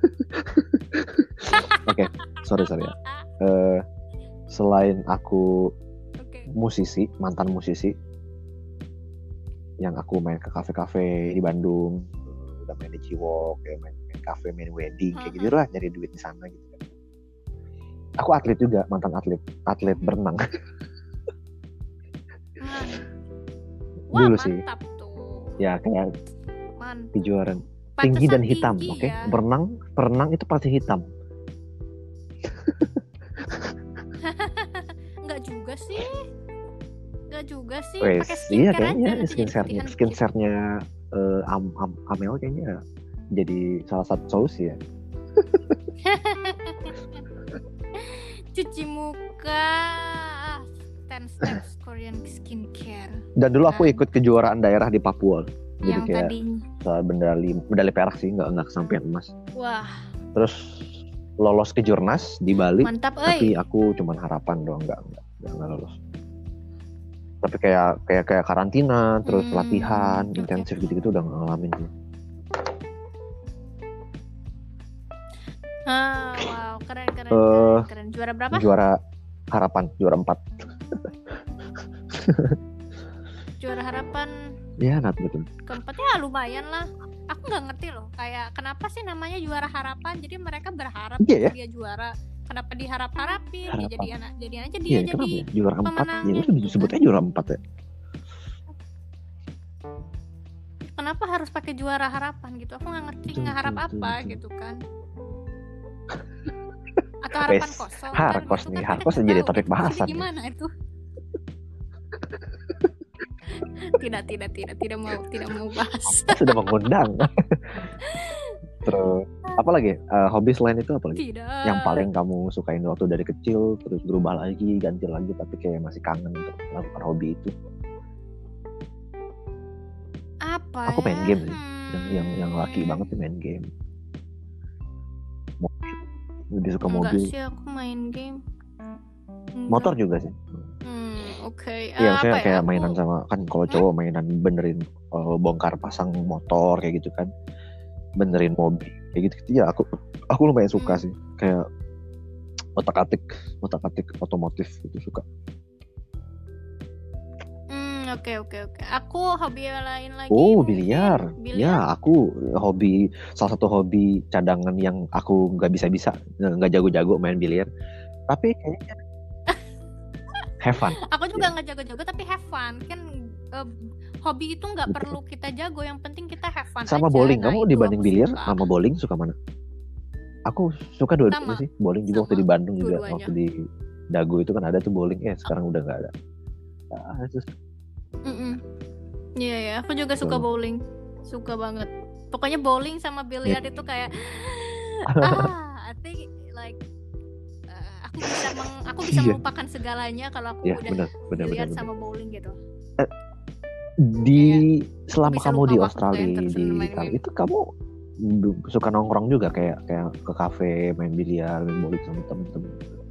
Oke, okay. sorry sorry ya. Uh, Selain aku okay. musisi, mantan musisi, yang aku main ke kafe-kafe di Bandung, udah main di Ciwok, kayak main, main kafe, main wedding, kayak gitu lah, nyari duit di sana gitu kan. Aku atlet juga, mantan atlet, atlet berenang. Wah, dulu mantap sih. Tuh. Ya kayak kejuaraan tinggi dan hitam, oke? Okay? Ya? Berenang, berenang itu pasti hitam. Enggak juga sih. Enggak juga sih. Wes, pakai iya skincare kayaknya aja skincare-nya, skincare-nya uh, am, am, Amel kayaknya jadi salah satu solusi ya. Cuci muka, ten steps Korean skincare. Dan dulu aku ikut kejuaraan daerah di Papua. Jadi yang kayak soal medali medali perak sih, nggak nggak kesampaian emas. Wah. Terus lolos ke Jurnas di Bali. Mantap, tapi aku cuman harapan doang, nggak nggak nggak lolos. Tapi kayak kayak kayak karantina, terus hmm, latihan okay. intensif gitu-gitu udah ngalamin sih. Ah, wow, keren keren, uh, keren keren. Juara berapa? Juara harapan, juara empat. Juara harapan. Ya, not betul. Keempatnya lumayan lah. Aku nggak ngerti loh, kayak kenapa sih namanya juara harapan? Jadi mereka berharap yeah, dia juara. Kenapa diharap-harapin? Dia jadi anak, jadi aja dia yeah, jadi ya? Juara empat. Ya udah disebutnya juara empat ya. Kenapa harus pakai juara harapan gitu? Aku nggak ngerti ngeharap apa betul. Gitu kan? Atau harapan kosong? Harkos kan? nih, kan harkos jadi topik bahasan. Gimana ya? Itu? tidak tidak tidak tidak mau tidak mau bahas. Sudah mengundang. Terus apa lagi uh, hobi selain itu apa lagi? Tidak. Yang paling kamu sukain waktu dari kecil terus berubah lagi ganti lagi tapi kayak masih kangen untuk melakukan hobi itu? Apa? Aku main ya? game sih. Hmm. Yang yang yang laki banget sih main game. Mobil. Lebih suka Enggak mobil. Sih aku main game. Enggak. Motor juga sih. Hmm. Oke. Iya, Eh, maksudnya apa ya? kayak Aku mainan sama kan kalau hmm? cowok mainan benerin eh, bongkar pasang motor kayak gitu kan, benerin mobil kayak gitu. Ya aku aku lumayan suka Hmm. sih, kayak otak-atik otak-atik otomotif itu suka. Hmm, oke oke oke. Aku hobi lain lagi Oh, mungkin biliar. biliar. Ya, aku hobi salah satu hobi cadangan yang aku nggak bisa-bisa, nggak jago-jago main biliar. Tapi kayaknya have fun. Aku juga Ya, nggak jago-jago tapi have fun kan. eh, hobi itu nggak betul. perlu kita jago, yang penting kita have fun Sama aja. bowling, Nah, kamu itu dibanding aku biliar suka. sama bowling suka mana? Aku suka dua-duanya Sama sih. Bowling juga waktu sama di Bandung juga, dua-duanya. waktu di Dago itu kan ada tuh bowling. Eh, sekarang udah nggak ada. Ah, itu Mm-mm. Iya ya, aku juga suka betul. bowling, suka banget. Pokoknya bowling sama biliar Ya. itu kayak ah, I think like uh, aku bisa meng, aku bisa Iya. melupakan segalanya kalau aku Ya, udah benar, benar, benar, biliar benar. sama bowling gitu. Eh, Di Kayak selama bisa kamu lupa di waktu Australia, yang terus di main-main. Italia itu kamu b- suka nongkrong juga kayak kayak ke kafe main biliar, main bowling sama temen-temen.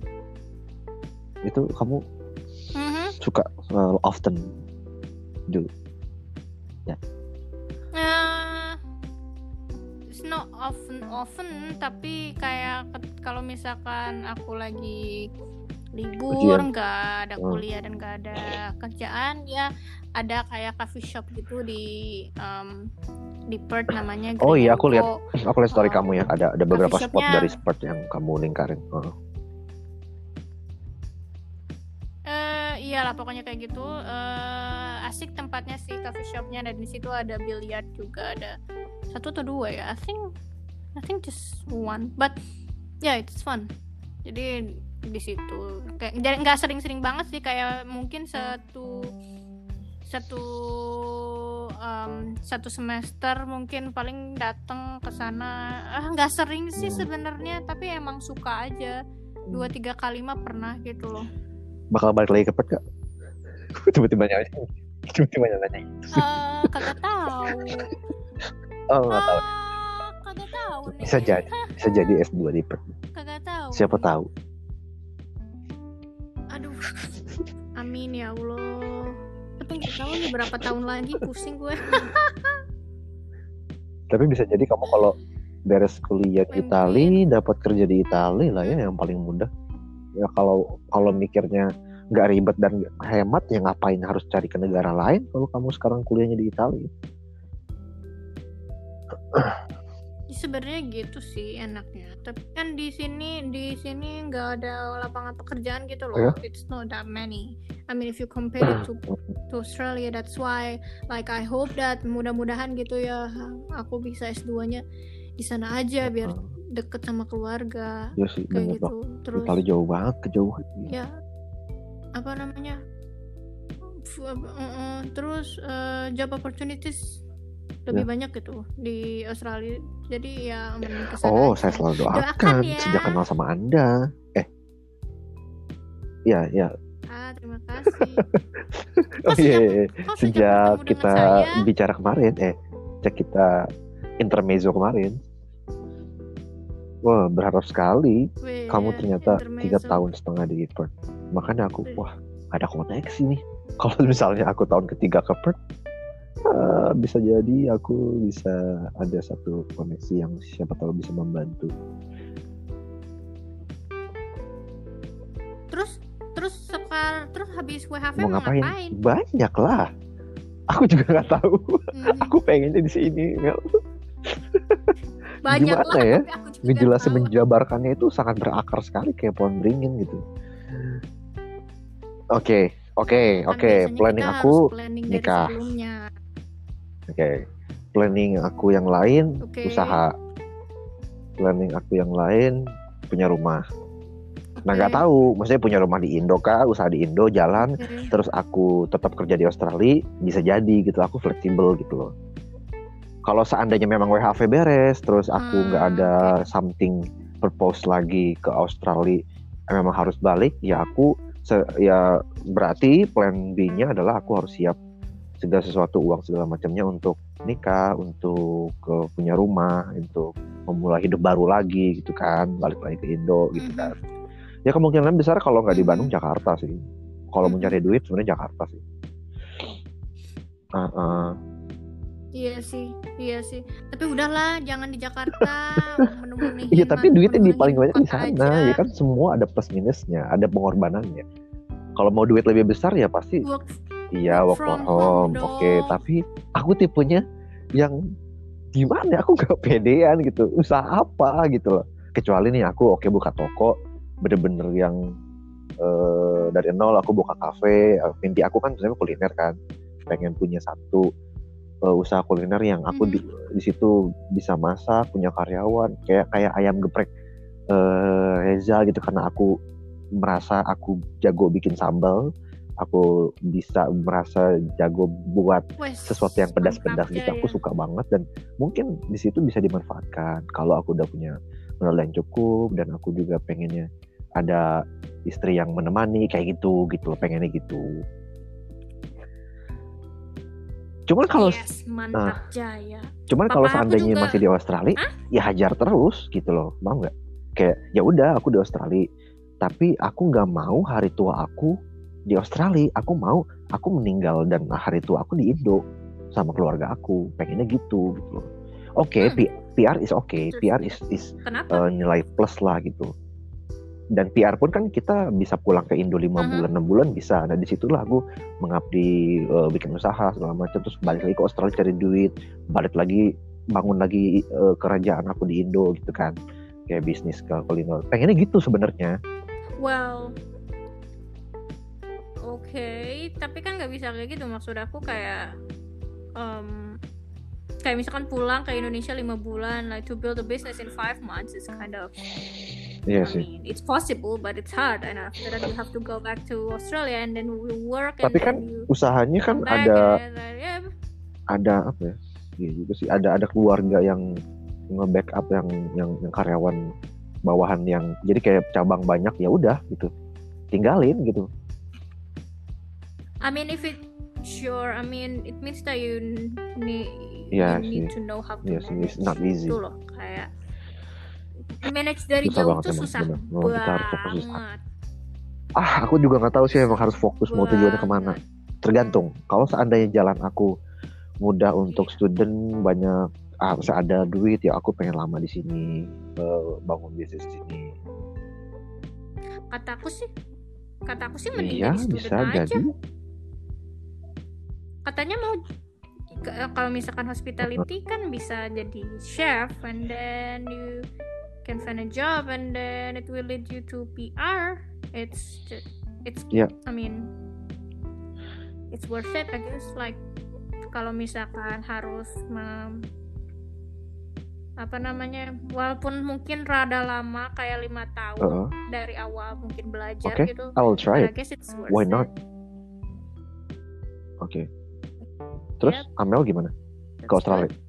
Itu kamu Mhm. suka uh, often do? Ya. Eh, it's not often often tapi kayak ke- kalau misalkan aku lagi libur, Ujian. nggak ada Hmm. kuliah dan nggak ada kerjaan, ya ada kayak coffee shop gitu di um, di Perth namanya Oh Green iya, and aku lihat Co. aku lihat story Um, kamu ya. Ada ada beberapa coffee spot shopnya dari spot yang kamu lingkarin. Oh. eh iyalah pokoknya kayak gitu. Eh, asik tempatnya sih coffee shopnya, dan di situ ada biliar juga, ada satu atau dua ya. I think I think just one, but yeah it's fun. Jadi di situ kayak jadi nggak sering-sering banget sih, kayak mungkin satu satu um, satu semester mungkin paling datang ke sana. Ah, nggak sering sih Hmm. sebenarnya, tapi emang suka aja. Dua tiga kali mah pernah gitu loh. Bakal balik lagi ke Perth gak? Tiba-tiba nanya, tiba-tiba nanya. Eh, kagak tahu. Oh, nggak tahu. Ah, kagak tahu nih. Bisa jadi, bisa jadi S dua di Perth. Kagak tahu. Siapa tahu. Aduh. Amin ya Allah. Tapi nggak tahu nih berapa tahun lagi, pusing gue. Tapi bisa jadi kamu kalau beres kuliah di Itali, dapat kerja di Itali lah ya, yang paling mudah. Ya kalau kalau mikirnya nggak ribet dan nggak hemat, ya ngapain harus cari ke negara lain kalau kamu sekarang kuliahnya di Itali. Ya, sebenarnya gitu sih enaknya. Tapi kan di sini di sini nggak ada lapangan pekerjaan gitu loh. Ya? It's not that many. I mean if you compare it to to Australia, that's why like I hope that mudah-mudahan gitu ya aku bisa S dua-nya di sana aja biar deket sama keluarga. Ya sih, kayak bener gitu. loh. Terus Itali jauh banget, kejauhan. ya apa namanya? F- uh, uh, terus uh, job opportunities lebih Ya. banyak gitu di Australia. Jadi ya mending kesana Oh, aja. saya selalu doakan, Doakan ya. sejak kenal sama Anda. Eh, ya, ya. Ah, terima kasih. Oh Kok iya, sejak, iya. kok sejak Sejak bertemu kita dengan saya, bicara kemarin, eh, sejak kita intermezzo kemarin. Wah, berharap sekali weh, kamu ternyata intermezzo. tiga tahun setengah di Perth. Makanya aku, wah, ada koneksi nih. Kalau misalnya aku tahun ketiga ke Perth, uh, bisa jadi aku bisa ada satu koneksi yang siapa tahu bisa membantu. Terus terus sekarang terus habis W H V Mau mau ngapain? ngapain? Banyak lah. Aku juga nggak tahu. Hmm, Aku pengennya di sini. Mel. banyak Gimana lah, ya? tapi aku juga Ngejelasin tahu. menjabarkannya itu sangat berakar sekali kayak pohon beringin gitu. Oke, oke, Kan oke. biasanya Planning kita aku harus planning dari nikah. sebelumnya. Oke. Planning aku yang lain Oke. usaha. Planning aku yang lain punya rumah. Nah, Oke. nggak tahu, maksudnya punya rumah di Indo kah, usaha di Indo jalan, Oke. terus aku tetap kerja di Australia, bisa jadi gitu, aku fleksibel gitu loh. Kalau seandainya memang W H V beres, terus aku nggak Hmm, ada oke. something purpose lagi ke Australia, memang harus balik, ya aku se- ya berarti plan B-nya adalah aku harus siap segala sesuatu, uang segala macamnya untuk nikah, untuk ke punya rumah, untuk memulai hidup baru lagi gitu kan, balik lagi ke Indo gitu Mhm. kan. Ya kemungkinan besar kalau nggak di Mhm. Bandung, Jakarta sih. Kalau mau Mhm. cari duit sebenarnya Jakarta sih. Uh, uh, Iya sih, iya sih. Tapi udahlah, jangan di Jakarta menemuin Iya tapi duitnya di paling banyak di kota sana, aja. ya kan semua ada plus minusnya, ada pengorbanannya. Kalau mau duit lebih besar ya pasti Work, iya work work from from home home, oke. dong. Tapi aku tipenya yang gimana? Aku gak pedean gitu. Usaha apa gitu loh. Kecuali nih aku oke buka toko, bener-bener yang uh, dari nol aku buka kafe. Mimpi aku kan sebenarnya kuliner kan, pengen punya satu uh, usaha kuliner yang aku di, di situ bisa masak, punya karyawan, kayak kayak ayam geprek uh, Reza gitu, karena aku merasa aku jago bikin sambal, aku bisa merasa jago buat Wes, sesuatu yang pedas-pedas gitu. Aku ya. suka banget dan mungkin di situ bisa dimanfaatkan kalau aku udah punya modal yang cukup dan aku juga pengennya ada istri yang menemani kayak gitu gitu loh, pengennya gitu. Cuman kalau yes, mantap nah, Jaya. Cuman kalau seandainya juga masih di Australia, Hah? ya hajar terus gitu loh, mau nggak? Kayak ya udah aku di Australia, tapi aku nggak mau hari tua aku di Australia. Aku mau aku meninggal dan hari tua aku di Indo sama keluarga aku. Pengennya gitu gitu loh. Oke, okay, hmm. P R is oke, okay. P R is is uh, nilai plus lah gitu. Dan P R pun kan kita bisa pulang ke Indo lima uh-huh. bulan, enam bulan bisa. Nah disitulah aku mengabdi, uh, bikin usaha segala macam, terus balik lagi ke Australia cari duit, balik lagi bangun lagi uh, kerajaan aku di Indo gitu kan, kayak bisnis ke kuliner. Pengennya gitu sebenarnya. Well, oke, okay. Tapi kan nggak bisa kayak gitu. Maksud aku kayak, um, kayak misalkan pulang ke Indonesia lima bulan, like to build a business in five months is kind of. Iya I sih. mean, it's possible, but it's hard. And after that, you have to go back to Australia and then we work. Tapi and kan you usahanya kan ada, and, and, yeah. ada apa ya? Iya juga sih. Ada ada keluarga yang nge-backup yang yang yang karyawan bawahan yang jadi kayak cabang banyak, ya udah gitu, tinggalin gitu. I mean, if it sure, I mean, it means that you need yeah, you need sih. to know how to yeah, manage. It's not easy. Itu loh, kayak manage dari susah jauh tuh emang, susah bener. banget. Kita harus fokus. Ah, aku juga nggak tahu sih emang harus fokus mau tujuannya kemana. Tergantung. Kalau seandainya jalan aku mudah untuk yeah. student, banyak ah, ada duit ya aku pengen lama di sini, uh, bangun bisnis di sini. Kataku sih, kataku sih mending iya, jadi student bisa aja. Jadi. Katanya mau kalau misalkan hospitality kan bisa jadi chef and then you can find a job and then it will lead you to P R. It's just, it's yeah. I mean it's worth it I guess. Like kalau misalkan harus mem, apa namanya, walaupun mungkin rada lama kayak lima tahun uh-huh. dari awal mungkin belajar okay. gitu. I will try it. I guess it's worth Why it. not? Oke. Okay. Terus yep. Amel gimana? That's ke Australia? Good.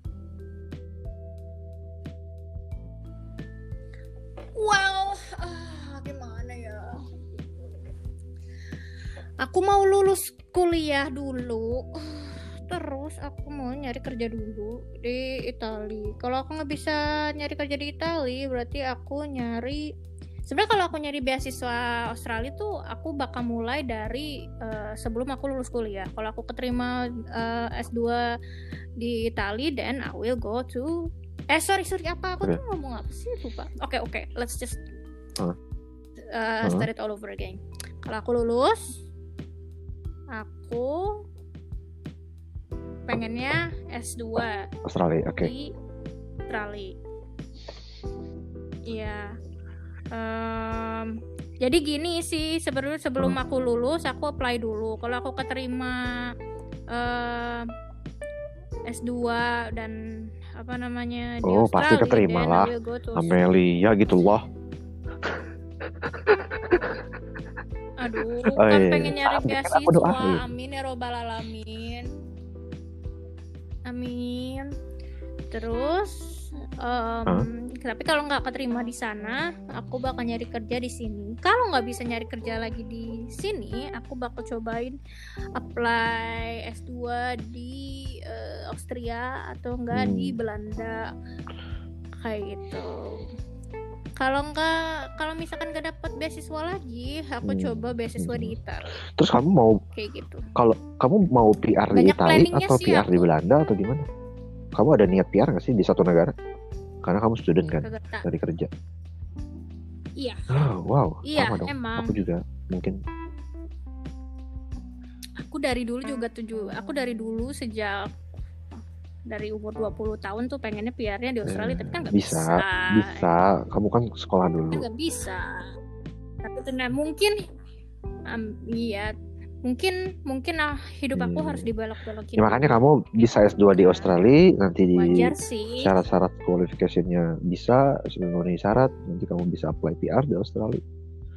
Well, uh, gimana ya? Aku mau lulus kuliah dulu, terus aku mau nyari kerja dulu di Italia. Kalau aku nggak bisa nyari kerja di Italia, berarti aku nyari. Sebenarnya kalau aku nyari beasiswa Australia tuh aku bakal mulai dari uh, sebelum aku lulus kuliah. Kalau aku keterima uh, S dua di Italia, then I will go to. Eh sorry sorry apa aku okay. tuh ngomong apa sih lupa. Oke okay, oke, okay. Let's just uh. Uh, start it all over again. Kalau aku lulus, aku pengennya S dua Australia, oke. Okay. Di Australia. Iya. Um, jadi gini sih sebelum sebelum hmm. aku lulus aku apply dulu. Kalau aku keterima uh, S dua dan apa namanya di oh, Australia, pasti keterima lah Amelia gitu loh. Aduh, oh, kan iya. pengen nyari beasiswa. Amin ya robbal alamin. Amin. Terus um, huh? Tapi kalau nggak keterima di sana, aku bakal nyari kerja di sini. Kalau nggak bisa nyari kerja lagi di sini, aku bakal cobain apply S dua di uh, Austria atau enggak hmm. di Belanda kayak gitu. Kalau enggak, kalau misalkan gak dapat beasiswa lagi, aku Hmm. coba beasiswa Hmm. di Italia. Terus kamu mau Kayak gitu. kalau kamu mau P R di Banyak Italia planningnya atau sih P R di aku. Belanda atau gimana? Kamu ada niat P R nggak sih di satu negara? Karena kamu student kan, Kagak tak. dari kerja. Iya. Oh, wow, Iya, sama dong. emang. Aku juga mungkin. Aku dari dulu juga tujuh. Aku dari dulu sejak dari umur dua puluh tahun tuh pengennya P R-nya di Australia, Eh, tapi kan nggak bisa, bisa. bisa. Kamu kan sekolah Kan dulu. nggak bisa. Tapi ternyata mungkin, um, iya, mungkin mungkin ah, hidup aku Hmm. harus dibelok-belokin. Ya, makanya dulu. kamu bisa S dua di Australia, nanti di Wajar sih. syarat-syarat qualification-nya bisa, sudah memenuhi syarat, nanti kamu bisa apply P R di Australia.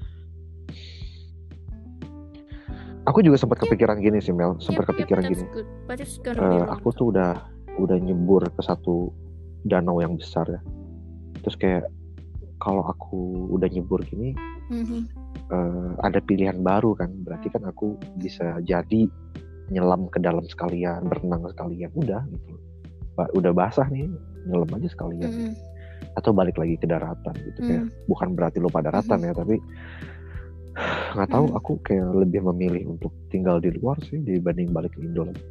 Aku juga sempat kepikiran gini sih Mel, sempat Yep, yep, kepikiran that's gini. good. But it's gonna be Eh, long aku term. tuh udah udah nyebur ke satu danau yang besar ya. Terus kayak kalau aku udah nyebur gini, Mhm. eh, ada pilihan baru kan. Berarti kan aku bisa jadi nyelam ke dalam sekalian, berenang sekalian, udah gitu. Ba- Udah basah nih, nyelam aja sekalian. Mhm. Atau balik lagi ke daratan gitu. Kayak Mhm. bukan berarti lupa daratan ya, tapi nggak tahu, Mhm. aku kayak lebih memilih untuk tinggal di luar sih dibanding balik ke Indo lagi.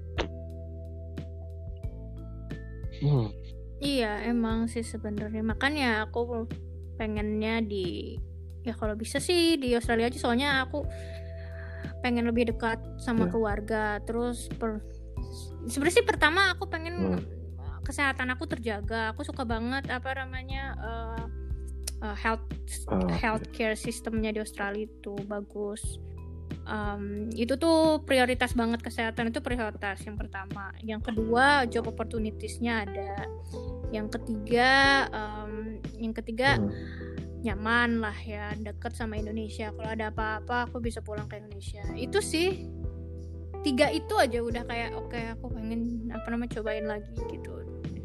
Hmm. Iya, emang sih sebenarnya. Makanya aku pengennya di, ya kalau bisa sih di Australia aja, soalnya aku pengen lebih dekat sama Ya. keluarga. Terus per, sebenarnya sih pertama aku pengen Hmm. kesehatan aku terjaga. Aku suka banget apa namanya uh, uh, health Ah, healthcare sistemnya di Australia itu bagus. Um, itu tuh prioritas banget, kesehatan itu prioritas yang pertama. Yang kedua, job opportunities-nya ada. Yang ketiga, um, yang ketiga hmm. nyaman lah ya, deket sama Indonesia. Kalau ada apa-apa aku bisa pulang ke Indonesia. Itu sih tiga itu aja udah kayak oke, okay, aku pengen apa namanya cobain lagi gitu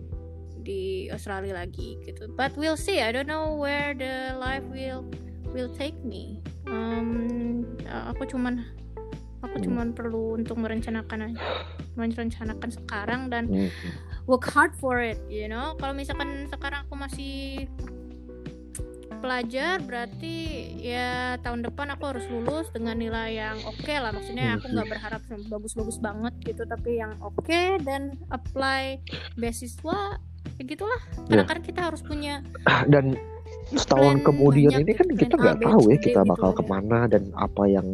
di Australia lagi gitu. But we'll see. I don't know where the life will will take me. Um, aku cuman aku Hmm. cuman perlu untuk merencanakan merencanakan sekarang dan Hmm. work hard for it, you know. Kalau misalkan sekarang aku masih pelajar, berarti ya tahun depan aku harus lulus dengan nilai yang oke okay lah. Maksudnya aku nggak berharap bagus-bagus banget gitu, tapi yang oke okay, dan apply beasiswa ya gitulah. Karena Ya. kan kita harus punya Dan setahun plan kemudian banyak ini gitu, kan plan kita A, nggak B, tahu C, ya D kita gitu bakal ada. kemana dan apa yang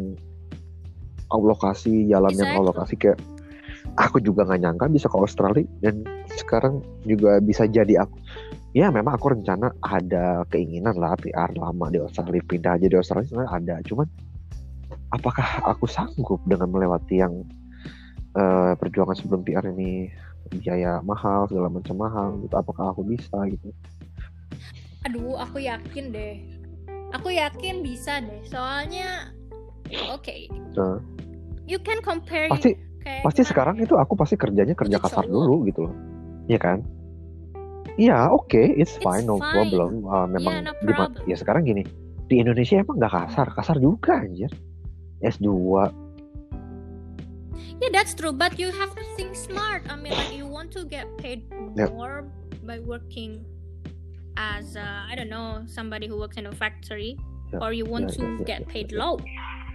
alokasi jalan yang Exactly. alokasi. Kayak aku juga nggak nyangka bisa ke Australia, dan sekarang juga bisa jadi aku. Ya memang aku rencana ada keinginan lah P R lama di Australia, pindah aja di Australia sebenarnya ada. Cuman apakah aku sanggup dengan melewati yang uh, perjuangan sebelum P R ini, biaya mahal, segala macam mahal gitu. Apakah aku bisa gitu? Aduh, aku yakin deh. Aku yakin bisa deh. Soalnya oke. Okay. Nah, you can compare pasti kayak pasti gimana? sekarang itu aku pasti kerjanya kerja Itu kasar cowok. dulu gitu loh. Iya kan? Iya, oke, okay, it's It's fine, no fine. problem. Uh, memang Yeah, no di, problem. ya sekarang gini, di Indonesia emang nggak kasar, kasar juga anjir. S dua. Yeah, that's true. But you have to think smart. I mean, like you want to get paid Yep. more by working as uh, I don't know, somebody who works in a factory, Yep. or you want Yeah, to yeah, yeah, get yeah, paid yeah. low.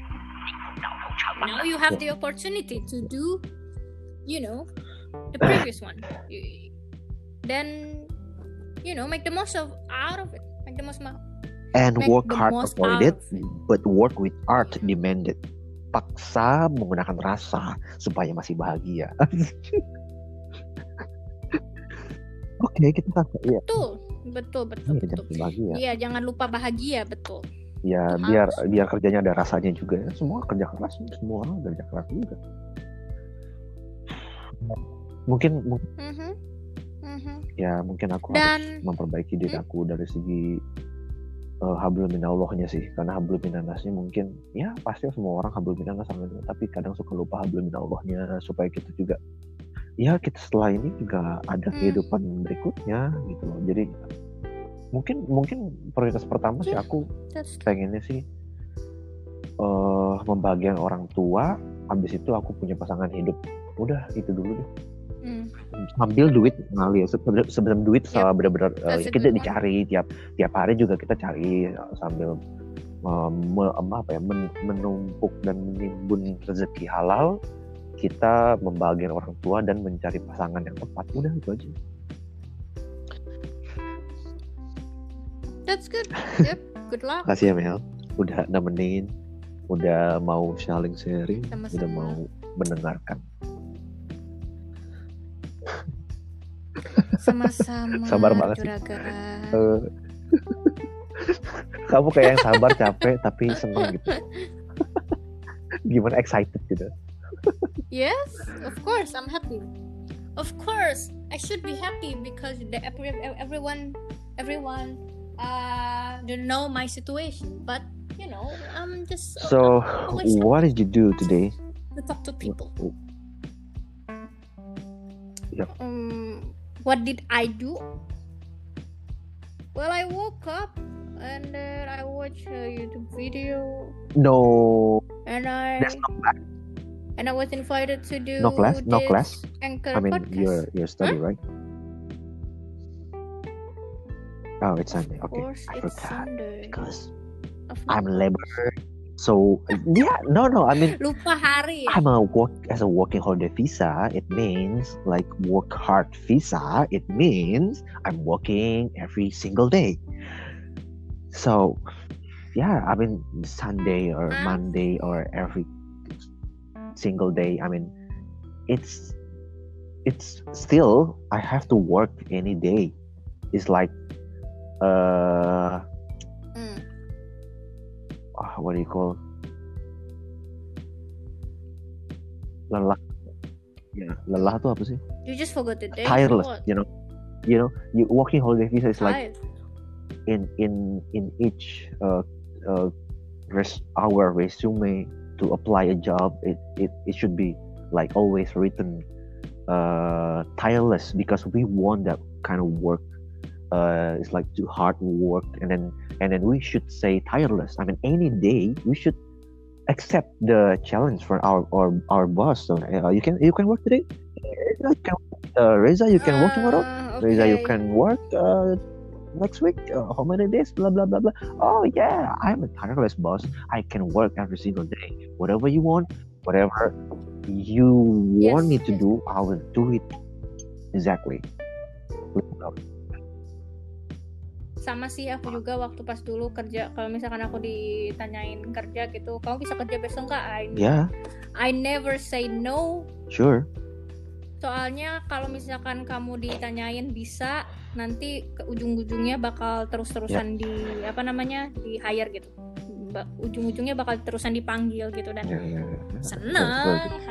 Now you have Yeah. the opportunity to do, you know, the previous one. You- Then, you know, make the most of out of it. Make the most ma- And make work the hard most avoided, out of it. but work with art demanded. Paksa menggunakan rasa supaya masih bahagia. Oke, okay, kita kan ya. Betul, betul, betul, Iya, betul. jangan bahagia. Iya, jangan lupa bahagia, betul. Ya Itu biar harus. biar kerjanya ada rasanya juga ya. Semua kerja keras, semua orang kerja keras juga. Mungkin, mungkin Mhm, mhm. ya mungkin aku Dan- harus memperbaiki diri aku dari segi uh, hablum minallahnya sih, karena hablum minannasnya mungkin ya pasti semua orang hablum minannas sama itu, tapi kadang suka lupa hablum minallahnya, supaya kita juga ya kita setelah ini juga ada Hmm. kehidupan berikutnya gitu loh. Jadi mungkin mungkin prioritas pertama sih Yeah. aku That's pengennya sih uh, membahagiakan orang tua, habis itu aku punya pasangan hidup. Udah itu dulu deh. Hmm. Sambil duit ngalir, sebelum sebelum duit Yep. benar-benar uh, That's a kita good one. dicari tiap tiap hari juga kita cari uh, sambil uh, me, apa ya men, menumpuk dan menimbun rezeki halal, kita membahagiakan orang tua dan mencari pasangan yang tepat. Udah itu aja. That's good. Yep. Good luck. Makasih ya Mel, udah nemenin, udah mau sharing sharing, Sama-sama. udah mau mendengarkan. Sama-sama. Sabar banget sih. Juragan. Uh, kamu kayak yang sabar capek tapi seneng gitu. Gimana excited gitu? Yes, of course, I'm happy. Of course, I should be happy because the, every, everyone, everyone, uh, don't know my situation. But you know, I'm just So, always what did you do today? to talk to people. Yep. Um, what did I do? Well, I woke up and then I watched a YouTube video, No, and I there's no class. and I was invited to do No class, no this class. Anchor I mean, podcast. your your study, right? Oh, it's Sunday. Of Okay, course, I it's forgot Sunday. because Of I'm course. labor. So yeah, no, no. I mean, Lupa hari. I'm a work as a working holiday visa. It means like work hard visa. It means I'm working every single day. So yeah, I mean Sunday or Huh? Monday or every single day. I mean, it's it's still I have to work any day. It's like uh, Hmm. ah, what do you call lelah? Ya, lelah tuh apa sih? You just forgot the day. Tireless, What? you know. You know, you working holiday visa is like Tired. in in in each uh, uh res- our resume to apply a job. It it it should be like always written uh tireless because we want that kind of work. Uh, it's like too hard work, and then and then we should say tireless. I mean, any day we should accept the challenge from our our, our boss. So uh, you can you can work today. You can, uh, Reza, you can work tomorrow. Ah, Reza, you okay. can work uh, next week. Uh, how many days? Blah blah blah blah. Oh yeah, I'm a tireless boss. I can work every single day. Whatever you want, whatever you want Yes, me to yes. do, I will do it exactly. Sama sih aku juga waktu pas dulu kerja, kalau misalkan aku ditanyain kerja gitu, kamu bisa kerja besok nggak? I, Yeah, I never say no. sure. Soalnya kalau misalkan kamu ditanyain bisa, nanti ke ujung-ujungnya bakal terus-terusan di apa namanya di hire gitu. Ba- ujung-ujungnya bakal terusan dipanggil gitu dan Yeah, yeah, yeah. That's very seneng. good.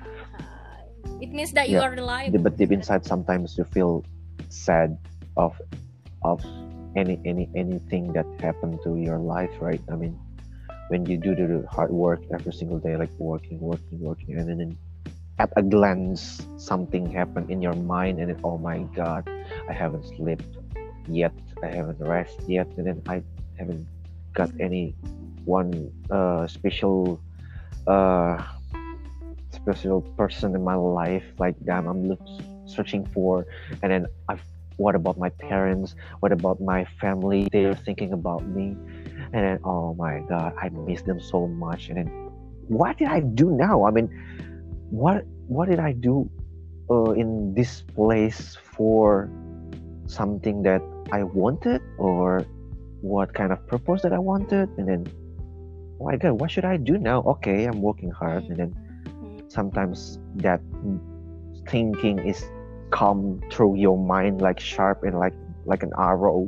It means that you Yeah. are reliable. But deep inside, sometimes you feel sad of of any any anything that happened to your life, right? I mean, when you do the hard work every single day, like working, working, working, and then at a glance, something happened in your mind, and then oh my God, I haven't slept yet, I haven't rested yet, and then I haven't got any one uh, special uh, special person in my life like that I'm look, searching for, and then I've what about my parents, what about my family, they're thinking about me, and then oh my God, I miss them so much, and then what did I do now? I mean, what what did I do uh, in this place for something that I wanted, or what kind of purpose that I wanted, and then oh my God, what should I do now? Okay, I'm working hard, and then sometimes that thinking is come through your mind like sharp and like like an arrow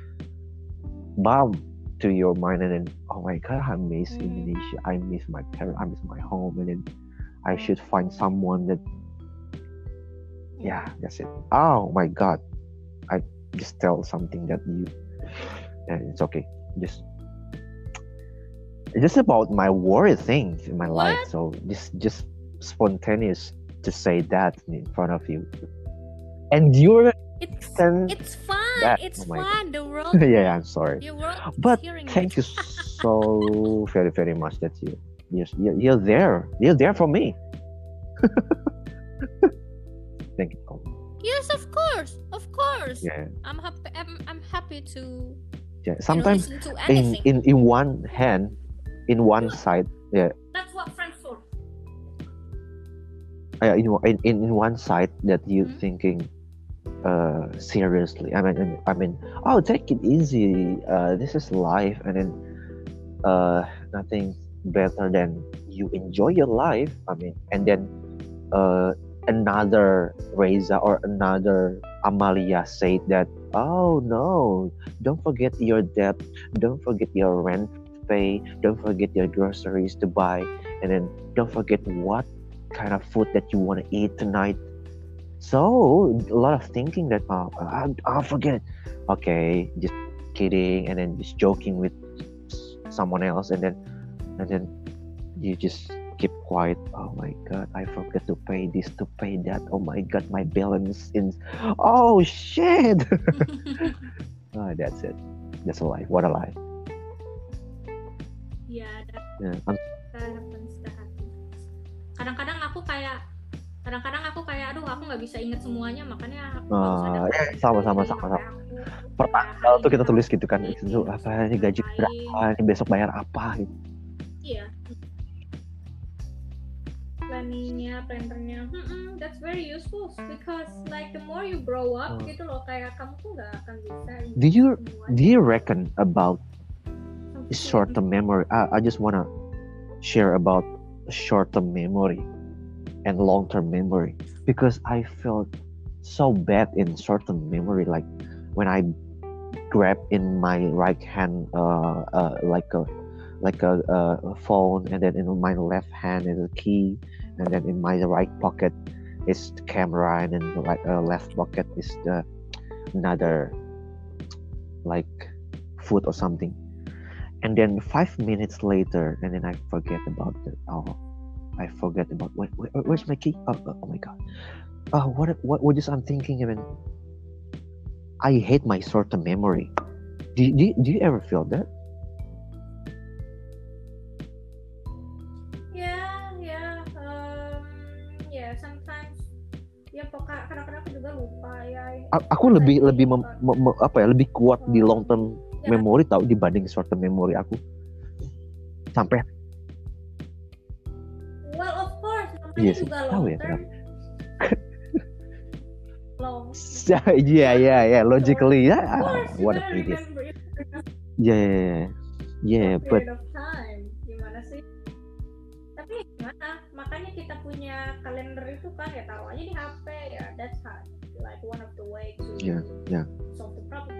bomb to your mind, and then oh my God, I miss Mm. Indonesia, I miss my parents, I miss my home, and then I should find someone that yeah, that's it. Oh my God, I just tell something that you and it's okay, just it's just about my worry things in my life, What? so just just spontaneous to say that in front of you, and you're It's then it's fun. that- It's oh my fun. The world. yeah, I'm sorry, The world is but hearing thank it. you so very very much that you you're, you're, you're there you're there for me. Thank you. Yes, of course, of course. Yeah, I'm happy. I'm, I'm happy to yeah. you know Sometimes listen to in anything. in in one hand, in one side, yeah, That's what friends for. uh, in, in in in one side that you Hmm? thinking uh seriously. I mean, I mean, oh, take it easy. Uh, this is life, and then uh, nothing better than you enjoy your life. I mean, and then uh, another Reza or another Amalia said that, oh no, don't forget your debt, don't forget your rent to pay, don't forget your groceries to buy, and then don't forget what kind of food that you want to eat tonight. So a lot of thinking that, oh, I'll, I'll forget. Okay, just kidding, and then just joking with someone else, and then and then you just keep quiet. Oh my god, I forgot to pay this, to pay that. Oh my god, my balance in. Oh shit. Oh, that's it. That's a life. What a life. Yeah, that, Yeah. I'm, that happens. That happens. Kadang-kadang aku kayak, kadang-kadang aku kayak, aduh, aku nggak bisa inget semuanya, makanya aku nggak usah uh, daftar ya, sama sama di sama H P sama. aku. Kayak Pertanggal hari tuh ini kita tulis harus gitu kan. ini, Itu apa ini harus gaji ngapain. berapa? Ini besok bayar apa gitu. Iya. Planningnya, plannernya, hmm, that's very useful because like the more you grow up, Oh. gitu loh, kayak kamu tuh nggak akan bisa ingat Do you semuanya. do you reckon about Something short-term memory? I, I just wanna share about short-term memory and long-term memory because I felt so bad in short-term memory. Like when I grab in my right hand, uh, uh like a like a, a phone, and then in my left hand is a key, and then in my right pocket is the camera, and then the right, uh, left pocket is the another like food or something. And then five minutes later, and then I forget about it. Oh, I forget about where, where, where's my key? Oh, oh, oh my god! Oh, what what what is I'm thinking? I mean, I hate my short-term memory. Do do do you ever feel that? Yeah, yeah, um, yeah, sometimes ya pokoknya kadang-kadang aku juga lupa ya. A- Aku Pas lebih lagi lebih mem, nonton. mem- mem- apa ya lebih kuat di long term Ya. memory tau dibanding short term memory aku. Sampai Well, of course, namanya Iya sih, juga tahu long ya term. Long. ya ya ya ya logically ya. Of course, you What a gotta idiot. remember it for Yeah, yeah, yeah, yeah, a but period of time. Gimana sih? Tapi gimana? Makanya kita punya kalender itu kan ya taruh aja di H P ya. That's how, like one of the way to Yeah, yeah. solve the problem.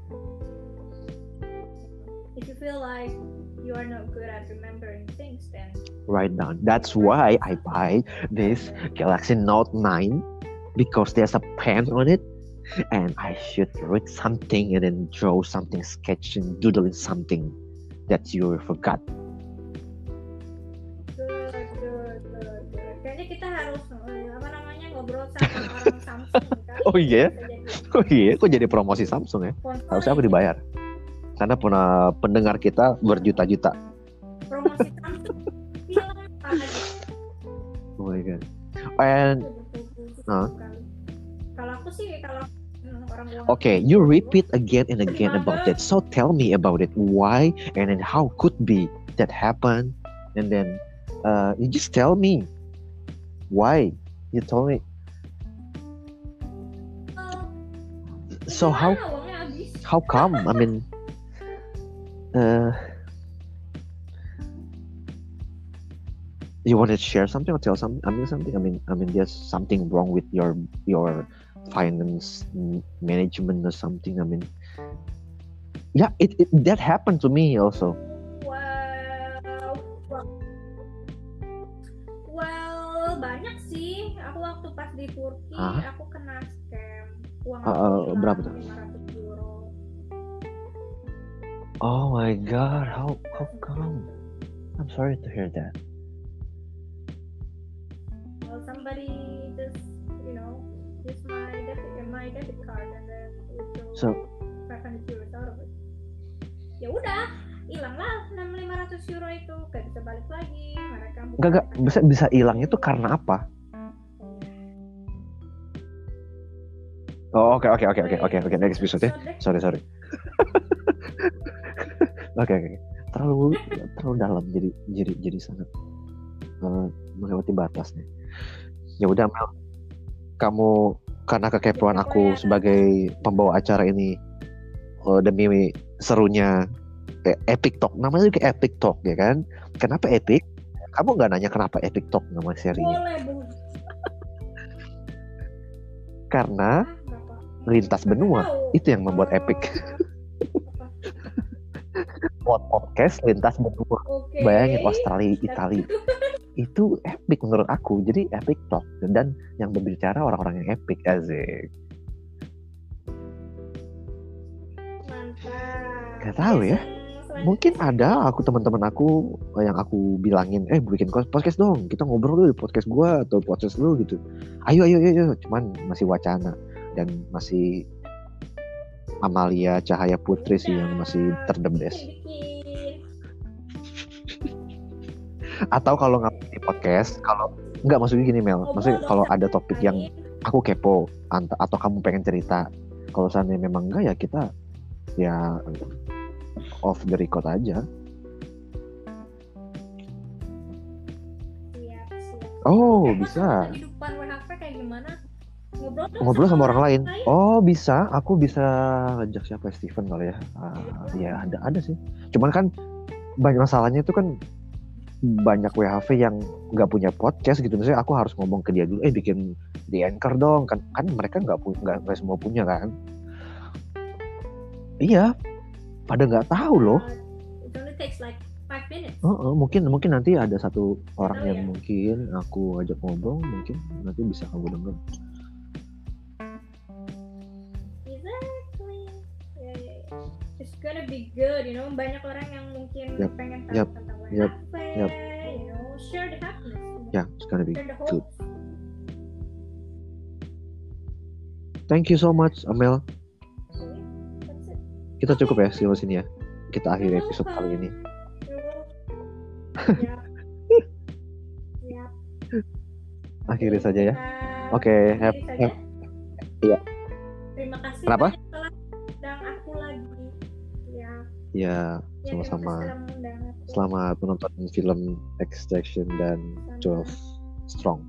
If you feel like you are not good at remembering things, then Write down. That's why I buy this Galaxy Note nine because there's a pen on it, and I should read something and then draw something, sketching, doodling something that you forgot. good, good, good, good. Kayaknya kita harus eh, apa namanya ngobrol sama orang Samsung kan? Oh iya? Bisa jadi Oh iya, kok jadi promosi Samsung ya? sponsor Harusnya aku ini. dibayar. Karena pernah pendengar kita berjuta-juta. Promosi Samsung film apa aja. Oh my god. And Huh? Kalau aku sih kalau hmm, orang luar okay, you repeat again and again about that. So tell me about it. Why and then how could be that happen? And then uh, you just tell me why. You told me. Oh, So gimana how uangnya habis? how come? I mean, uh, you want to share something or tell something? I mean something. I mean, I mean, there's something wrong with your your finance m- management or something. I mean, yeah, it, it that happened to me also. Well, well, well, banyak sih. Aku waktu pas di Turki, Hah? aku kena scam. Uang Uh, aku uh, hilang berapa tuh? lima ratus euro. Oh my god, how how come? I'm sorry to hear that. Well, somebody just, you know, use my debit, my debit card and then withdraw So five hundred euros out of it. Ya udah, hilang lah enam ribu lima ratus euro itu, gak bisa balik lagi. Mereka buka gak gak rekening bisa bisa hilang itu karena apa? Oh, oke oke oke oke Wait, oke oke next episode ya. episode? Sorry sorry. Oke oke. Terlalu terlalu dalam jadi jadi jadi sangat uh, melewati batasnya. Ya udah Mel, kamu karena kekepoan aku sebagai pembawa acara ini uh, demi serunya eh, Epic Talk, namanya juga Epic Talk ya kan? Kenapa Epic? Kamu nggak nanya kenapa Epic Talk nama serinya? Boleh, Bu. Karena lintas benua itu yang membuat epic. Podcast lintas benua. Okay. Bayangin Australia, Italia. Itu epic menurut aku. Jadi Epic Talk dan yang berbicara orang-orang yang epic, asik. Mantap. Gak tahu ya. Mungkin ada aku teman-teman aku yang aku bilangin, eh bikin podcast dong, kita ngobrol dulu di podcast gua atau podcast lu gitu. Ayo ayo ayo, cuman masih wacana dan masih Amalia Cahaya Putri sih yang masih terdebes. Atau kalau nggak di podcast, kalau nggak maksudnya gini Mel, maksudnya kalau ada topik yang aku kepo atau kamu pengen cerita, kalau seandainya memang enggak ya kita ya off the record aja. Siap, siap. Oh, Emang bisa. Kehidupan W H P kayak gimana? Ngobrol, Ngobrol sama, sama orang lain. lain. Oh, bisa. Aku bisa ngajak siapa Steven kali ya. Uh, ya ada ada sih. Cuman kan banyak masalahnya itu kan banyak W H V yang nggak punya podcast gitu. Misalnya aku harus ngomong ke dia dulu, eh bikin di Anchor dong. Kan kan mereka nggak punya, nggak semua punya kan. Iya. Pada nggak tahu loh. It only takes like five minutes. Uh, uh, mungkin mungkin nanti ada satu orang oh, yang ya? mungkin aku ajak ngobrol, mungkin nanti bisa kamu denger. Exactly. Yeah, yeah, yeah. It's gonna be good, you know. Banyak orang yang mungkin yep. pengen tahu yep. tentang W H P, yep. Yep. you know, share the happiness. You know? Yeah, it's gonna be share the good. hopes. Thank you so much, Amel. Kita cukup ya sampai sini ya. Kita akhiri episode kali ini. Ya. Ya. Akhiri saja ya. Oke, okay, have, have. Iya. Terima kasih. Kenapa? Telah undang aku lagi. Ya. Ya, sama-sama. Ya, selamat menonton film Extraction dan twelve Strong.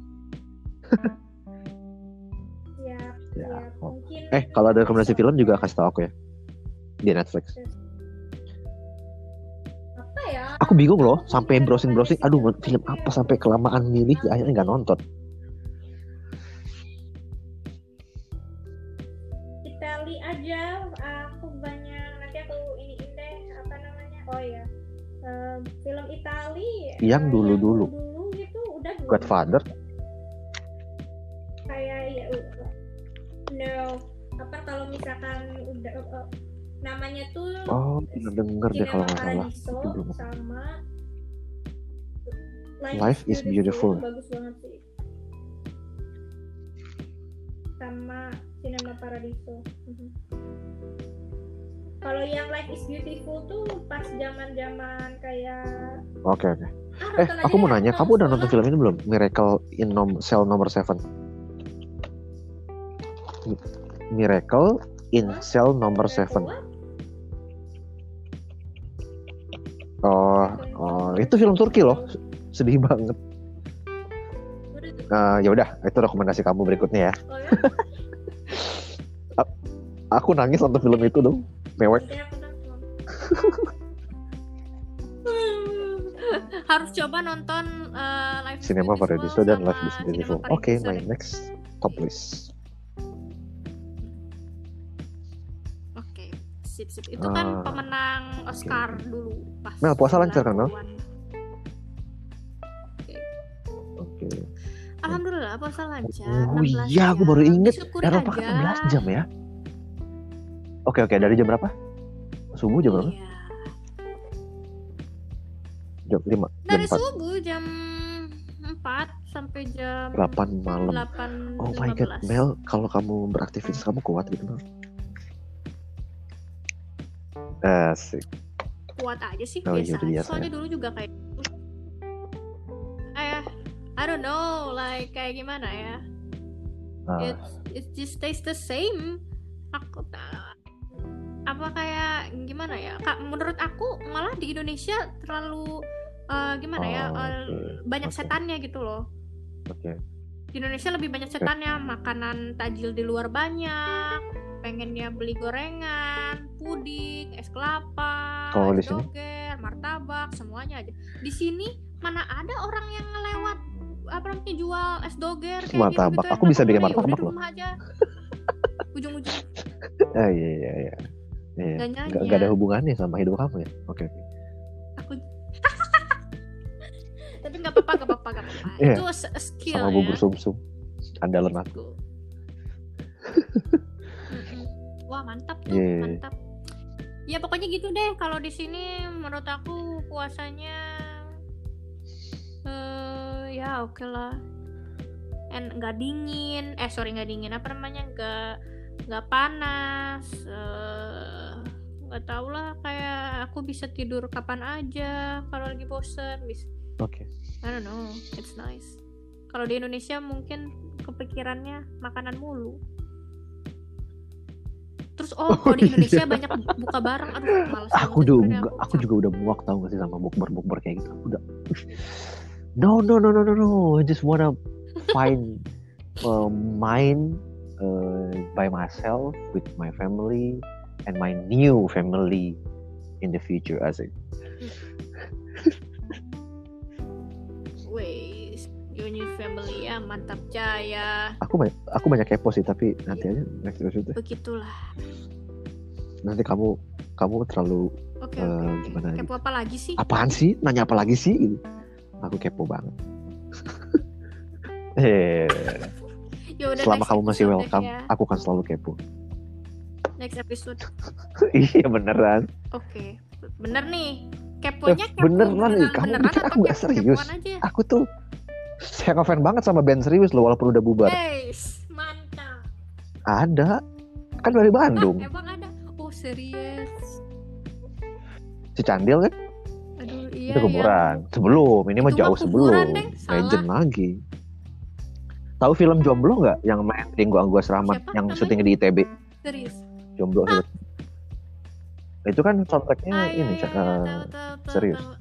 Siap. Ya. Siap. Oh. Mungkin Eh, kalau ada rekomendasi film juga kasih tahu aku ya. Di Netflix. Apa ya? Aku bingung loh, sampai browsing-browsing, aduh film apa sampai kelamaan milih, ya, akhirnya nggak nonton. Itali aja, aku banyak nanti aku iniin deh apa namanya? Oh ya, uh, film Itali. Yang dulu-dulu. Dulu gitu, udah dulu. Godfather. Kayak ya, no. Apa kalau misalkan udah uh, namanya tuh oh pernah denger deh kalau nggak salah belum. Sama Life, Life is Beautiful, beautiful. Bagus banget sih, sama Cinema Paradiso. uh-huh. Kalau yang Life is Beautiful tuh pas zaman-zaman kayak oke okay, oke okay. ah, eh aku mau nanya, kamu udah nonton film ini belum, Miracle in Nom- Cell Number Seven? Miracle in huh? Cell Number Seven. Oh, oh, itu film Turki loh, sedih banget. Uh, ya udah, itu rekomendasi kamu berikutnya ya. Oh, ya? Aku nangis nonton film itu dong, mewek. Harus coba nonton uh, Life Cinema Paradiso dan Life is Beautiful. Oke, okay, my next top list. Sip, sip. Itu kan uh, pemenang Oscar okay. dulu pas Mel, puasa lancar kan Mel? Oke okay. okay. Alhamdulillah puasa lancar. Oh iya, aku baru inget Eropa kan enam belas jam ya. Oke okay, oke okay. Dari jam berapa? Subuh jam berapa? Iya. Jam lima. Dari jam subuh jam empat sampai jam delapan malam. delapan, oh my god, Mel, kalau kamu beraktivitas kamu kuat gitu Mel? Asik. Kuat aja sih, oh, biasa, iya, biasa soalnya ya. Dulu juga kayak eh I don't know, like kayak gimana ya, Ah. it it just stays the same. Aku tak apa kayak gimana ya Kak, menurut aku malah di Indonesia terlalu uh, gimana ya Oh, uh, oke. banyak Oke. setannya gitu loh. Oke. Di Indonesia lebih banyak setannya, makanan tajil di luar banyak, pengennya beli gorengan, puding, es kelapa, Kalau di es sini? doger, martabak, semuanya aja. Di sini mana ada orang yang ngelewat apa namanya jual es doger kayak Martabak. gitu-gitu Aku bisa bikin martabak udah di loh. rumah aja. Ujung-ujung Ah, iya iya iya. Iya. Gak Nggak, nyanya. nggak ada hubungannya sama hidup kamu ya? Oke. oke. Aku tapi nggak apa-apa nggak apa-apa nggak apa-apa. Iya. Itu a skill Sama ya. bubur sumsum. Andalan aku. Gitu. Mm-mm. Wah mantap tuh, Iya. mantap. Ya pokoknya gitu deh. Kalau di sini menurut aku puasanya eh ya oke lah. And nggak dingin. Eh sorry nggak dingin. Apa namanya nggak nggak panas. Eh, nggak tahu lah. Kayak aku bisa tidur kapan aja kalau lagi bosen. Bisa. Oke. I don't know. It's nice. Kalau di Indonesia mungkin kepikirannya makanan mulu. Terus oh, kalau di Indonesia banyak buka bareng. Aduh, males Aku banget juga sebenarnya aku. aku juga udah muak tau gak sih sama bukber-bukber kayak gitu. Aku udah No no no no no no. I just wanna find uh, mine uh, by myself with my family and my new family in the future asik. Wait, your new family ya, mantap jaya. Aku banyak, aku banyak kepo sih tapi nanti aja next episode. Begitulah. Nanti kamu kamu terlalu Oke, uh, oke. gimana? Kepo apa lagi sih? Apaan sih? Nanya apa lagi sih? Gitu. Aku kepo banget. Eh, Ya udah, selama next kamu masih episode welcome, ya. aku kan selalu kepo. Next episode. Iya beneran. Oke, bener nih. Keponya Eh, kepo beneran nih, kamu beneran pikir apa aku nggak serius? kepo-kepoan aja? Aku tuh saya ngefans banget sama band serius loh walaupun udah bubar. Guys, mantap. Ada, kan dari Bandung. Ah, emang ada? Oh serius? Si Candil kan? Aduh iya Itu kuburan. Sebelum, ini mah Itu mah jauh kuburan, sebelum. Deng. Salah. Legend lagi. Tahu film Jomblo nggak yang main Ringo Agus Rahmat Siapa yang namanya? syutingnya di I T B? Ya. Serius? Jomblo film. Itu kan soundtracknya Ah, iya, ini iya, uh, iya, tahu, tahu, tahu, serius. tahu.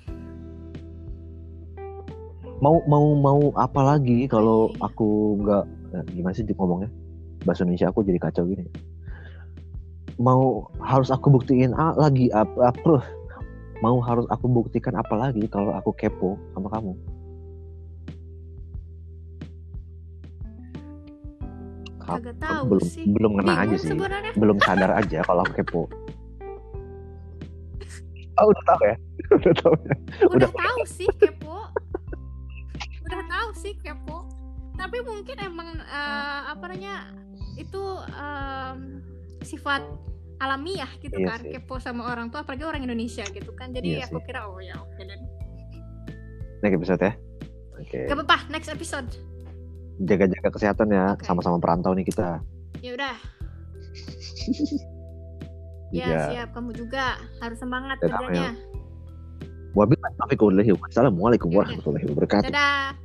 Mau mau mau apa lagi kalau Iya, iya. aku nggak eh, gimana sih ngomongnya? Bahasa Indonesia aku jadi kacau gini. Mau harus aku buktiin ah, lagi apa apa mau harus aku buktikan apa lagi kalau aku kepo sama kamu? Kagak tahu belum sih. belum ngena Bingung aja sih. sebenarnya. Belum sadar aja kalau aku kepo. Oh udah tahu ya? Udah tahu ya? Udah, Udah. tahu sih kepo. Udah tahu sih kepo. Tapi mungkin emang eh, apa namanya itu em, sifat alamiah gitu Iya kan, sih. kepo sama orang tua apalagi orang Indonesia gitu kan. Jadi Iya aku sih. kira oh ya oke deh. Next episode ya. Oke. Gak apa-apa, next episode. Jaga-jaga kesehatan ya. Oke. Sama-sama perantau nih kita. Ya udah. Ya Iya. siap, kamu juga harus semangat Dadah, kerjanya. Wabillahi taufiq wal hidayah. Wassalamualaikum Yaudah. warahmatullahi wabarakatuh. Dadah.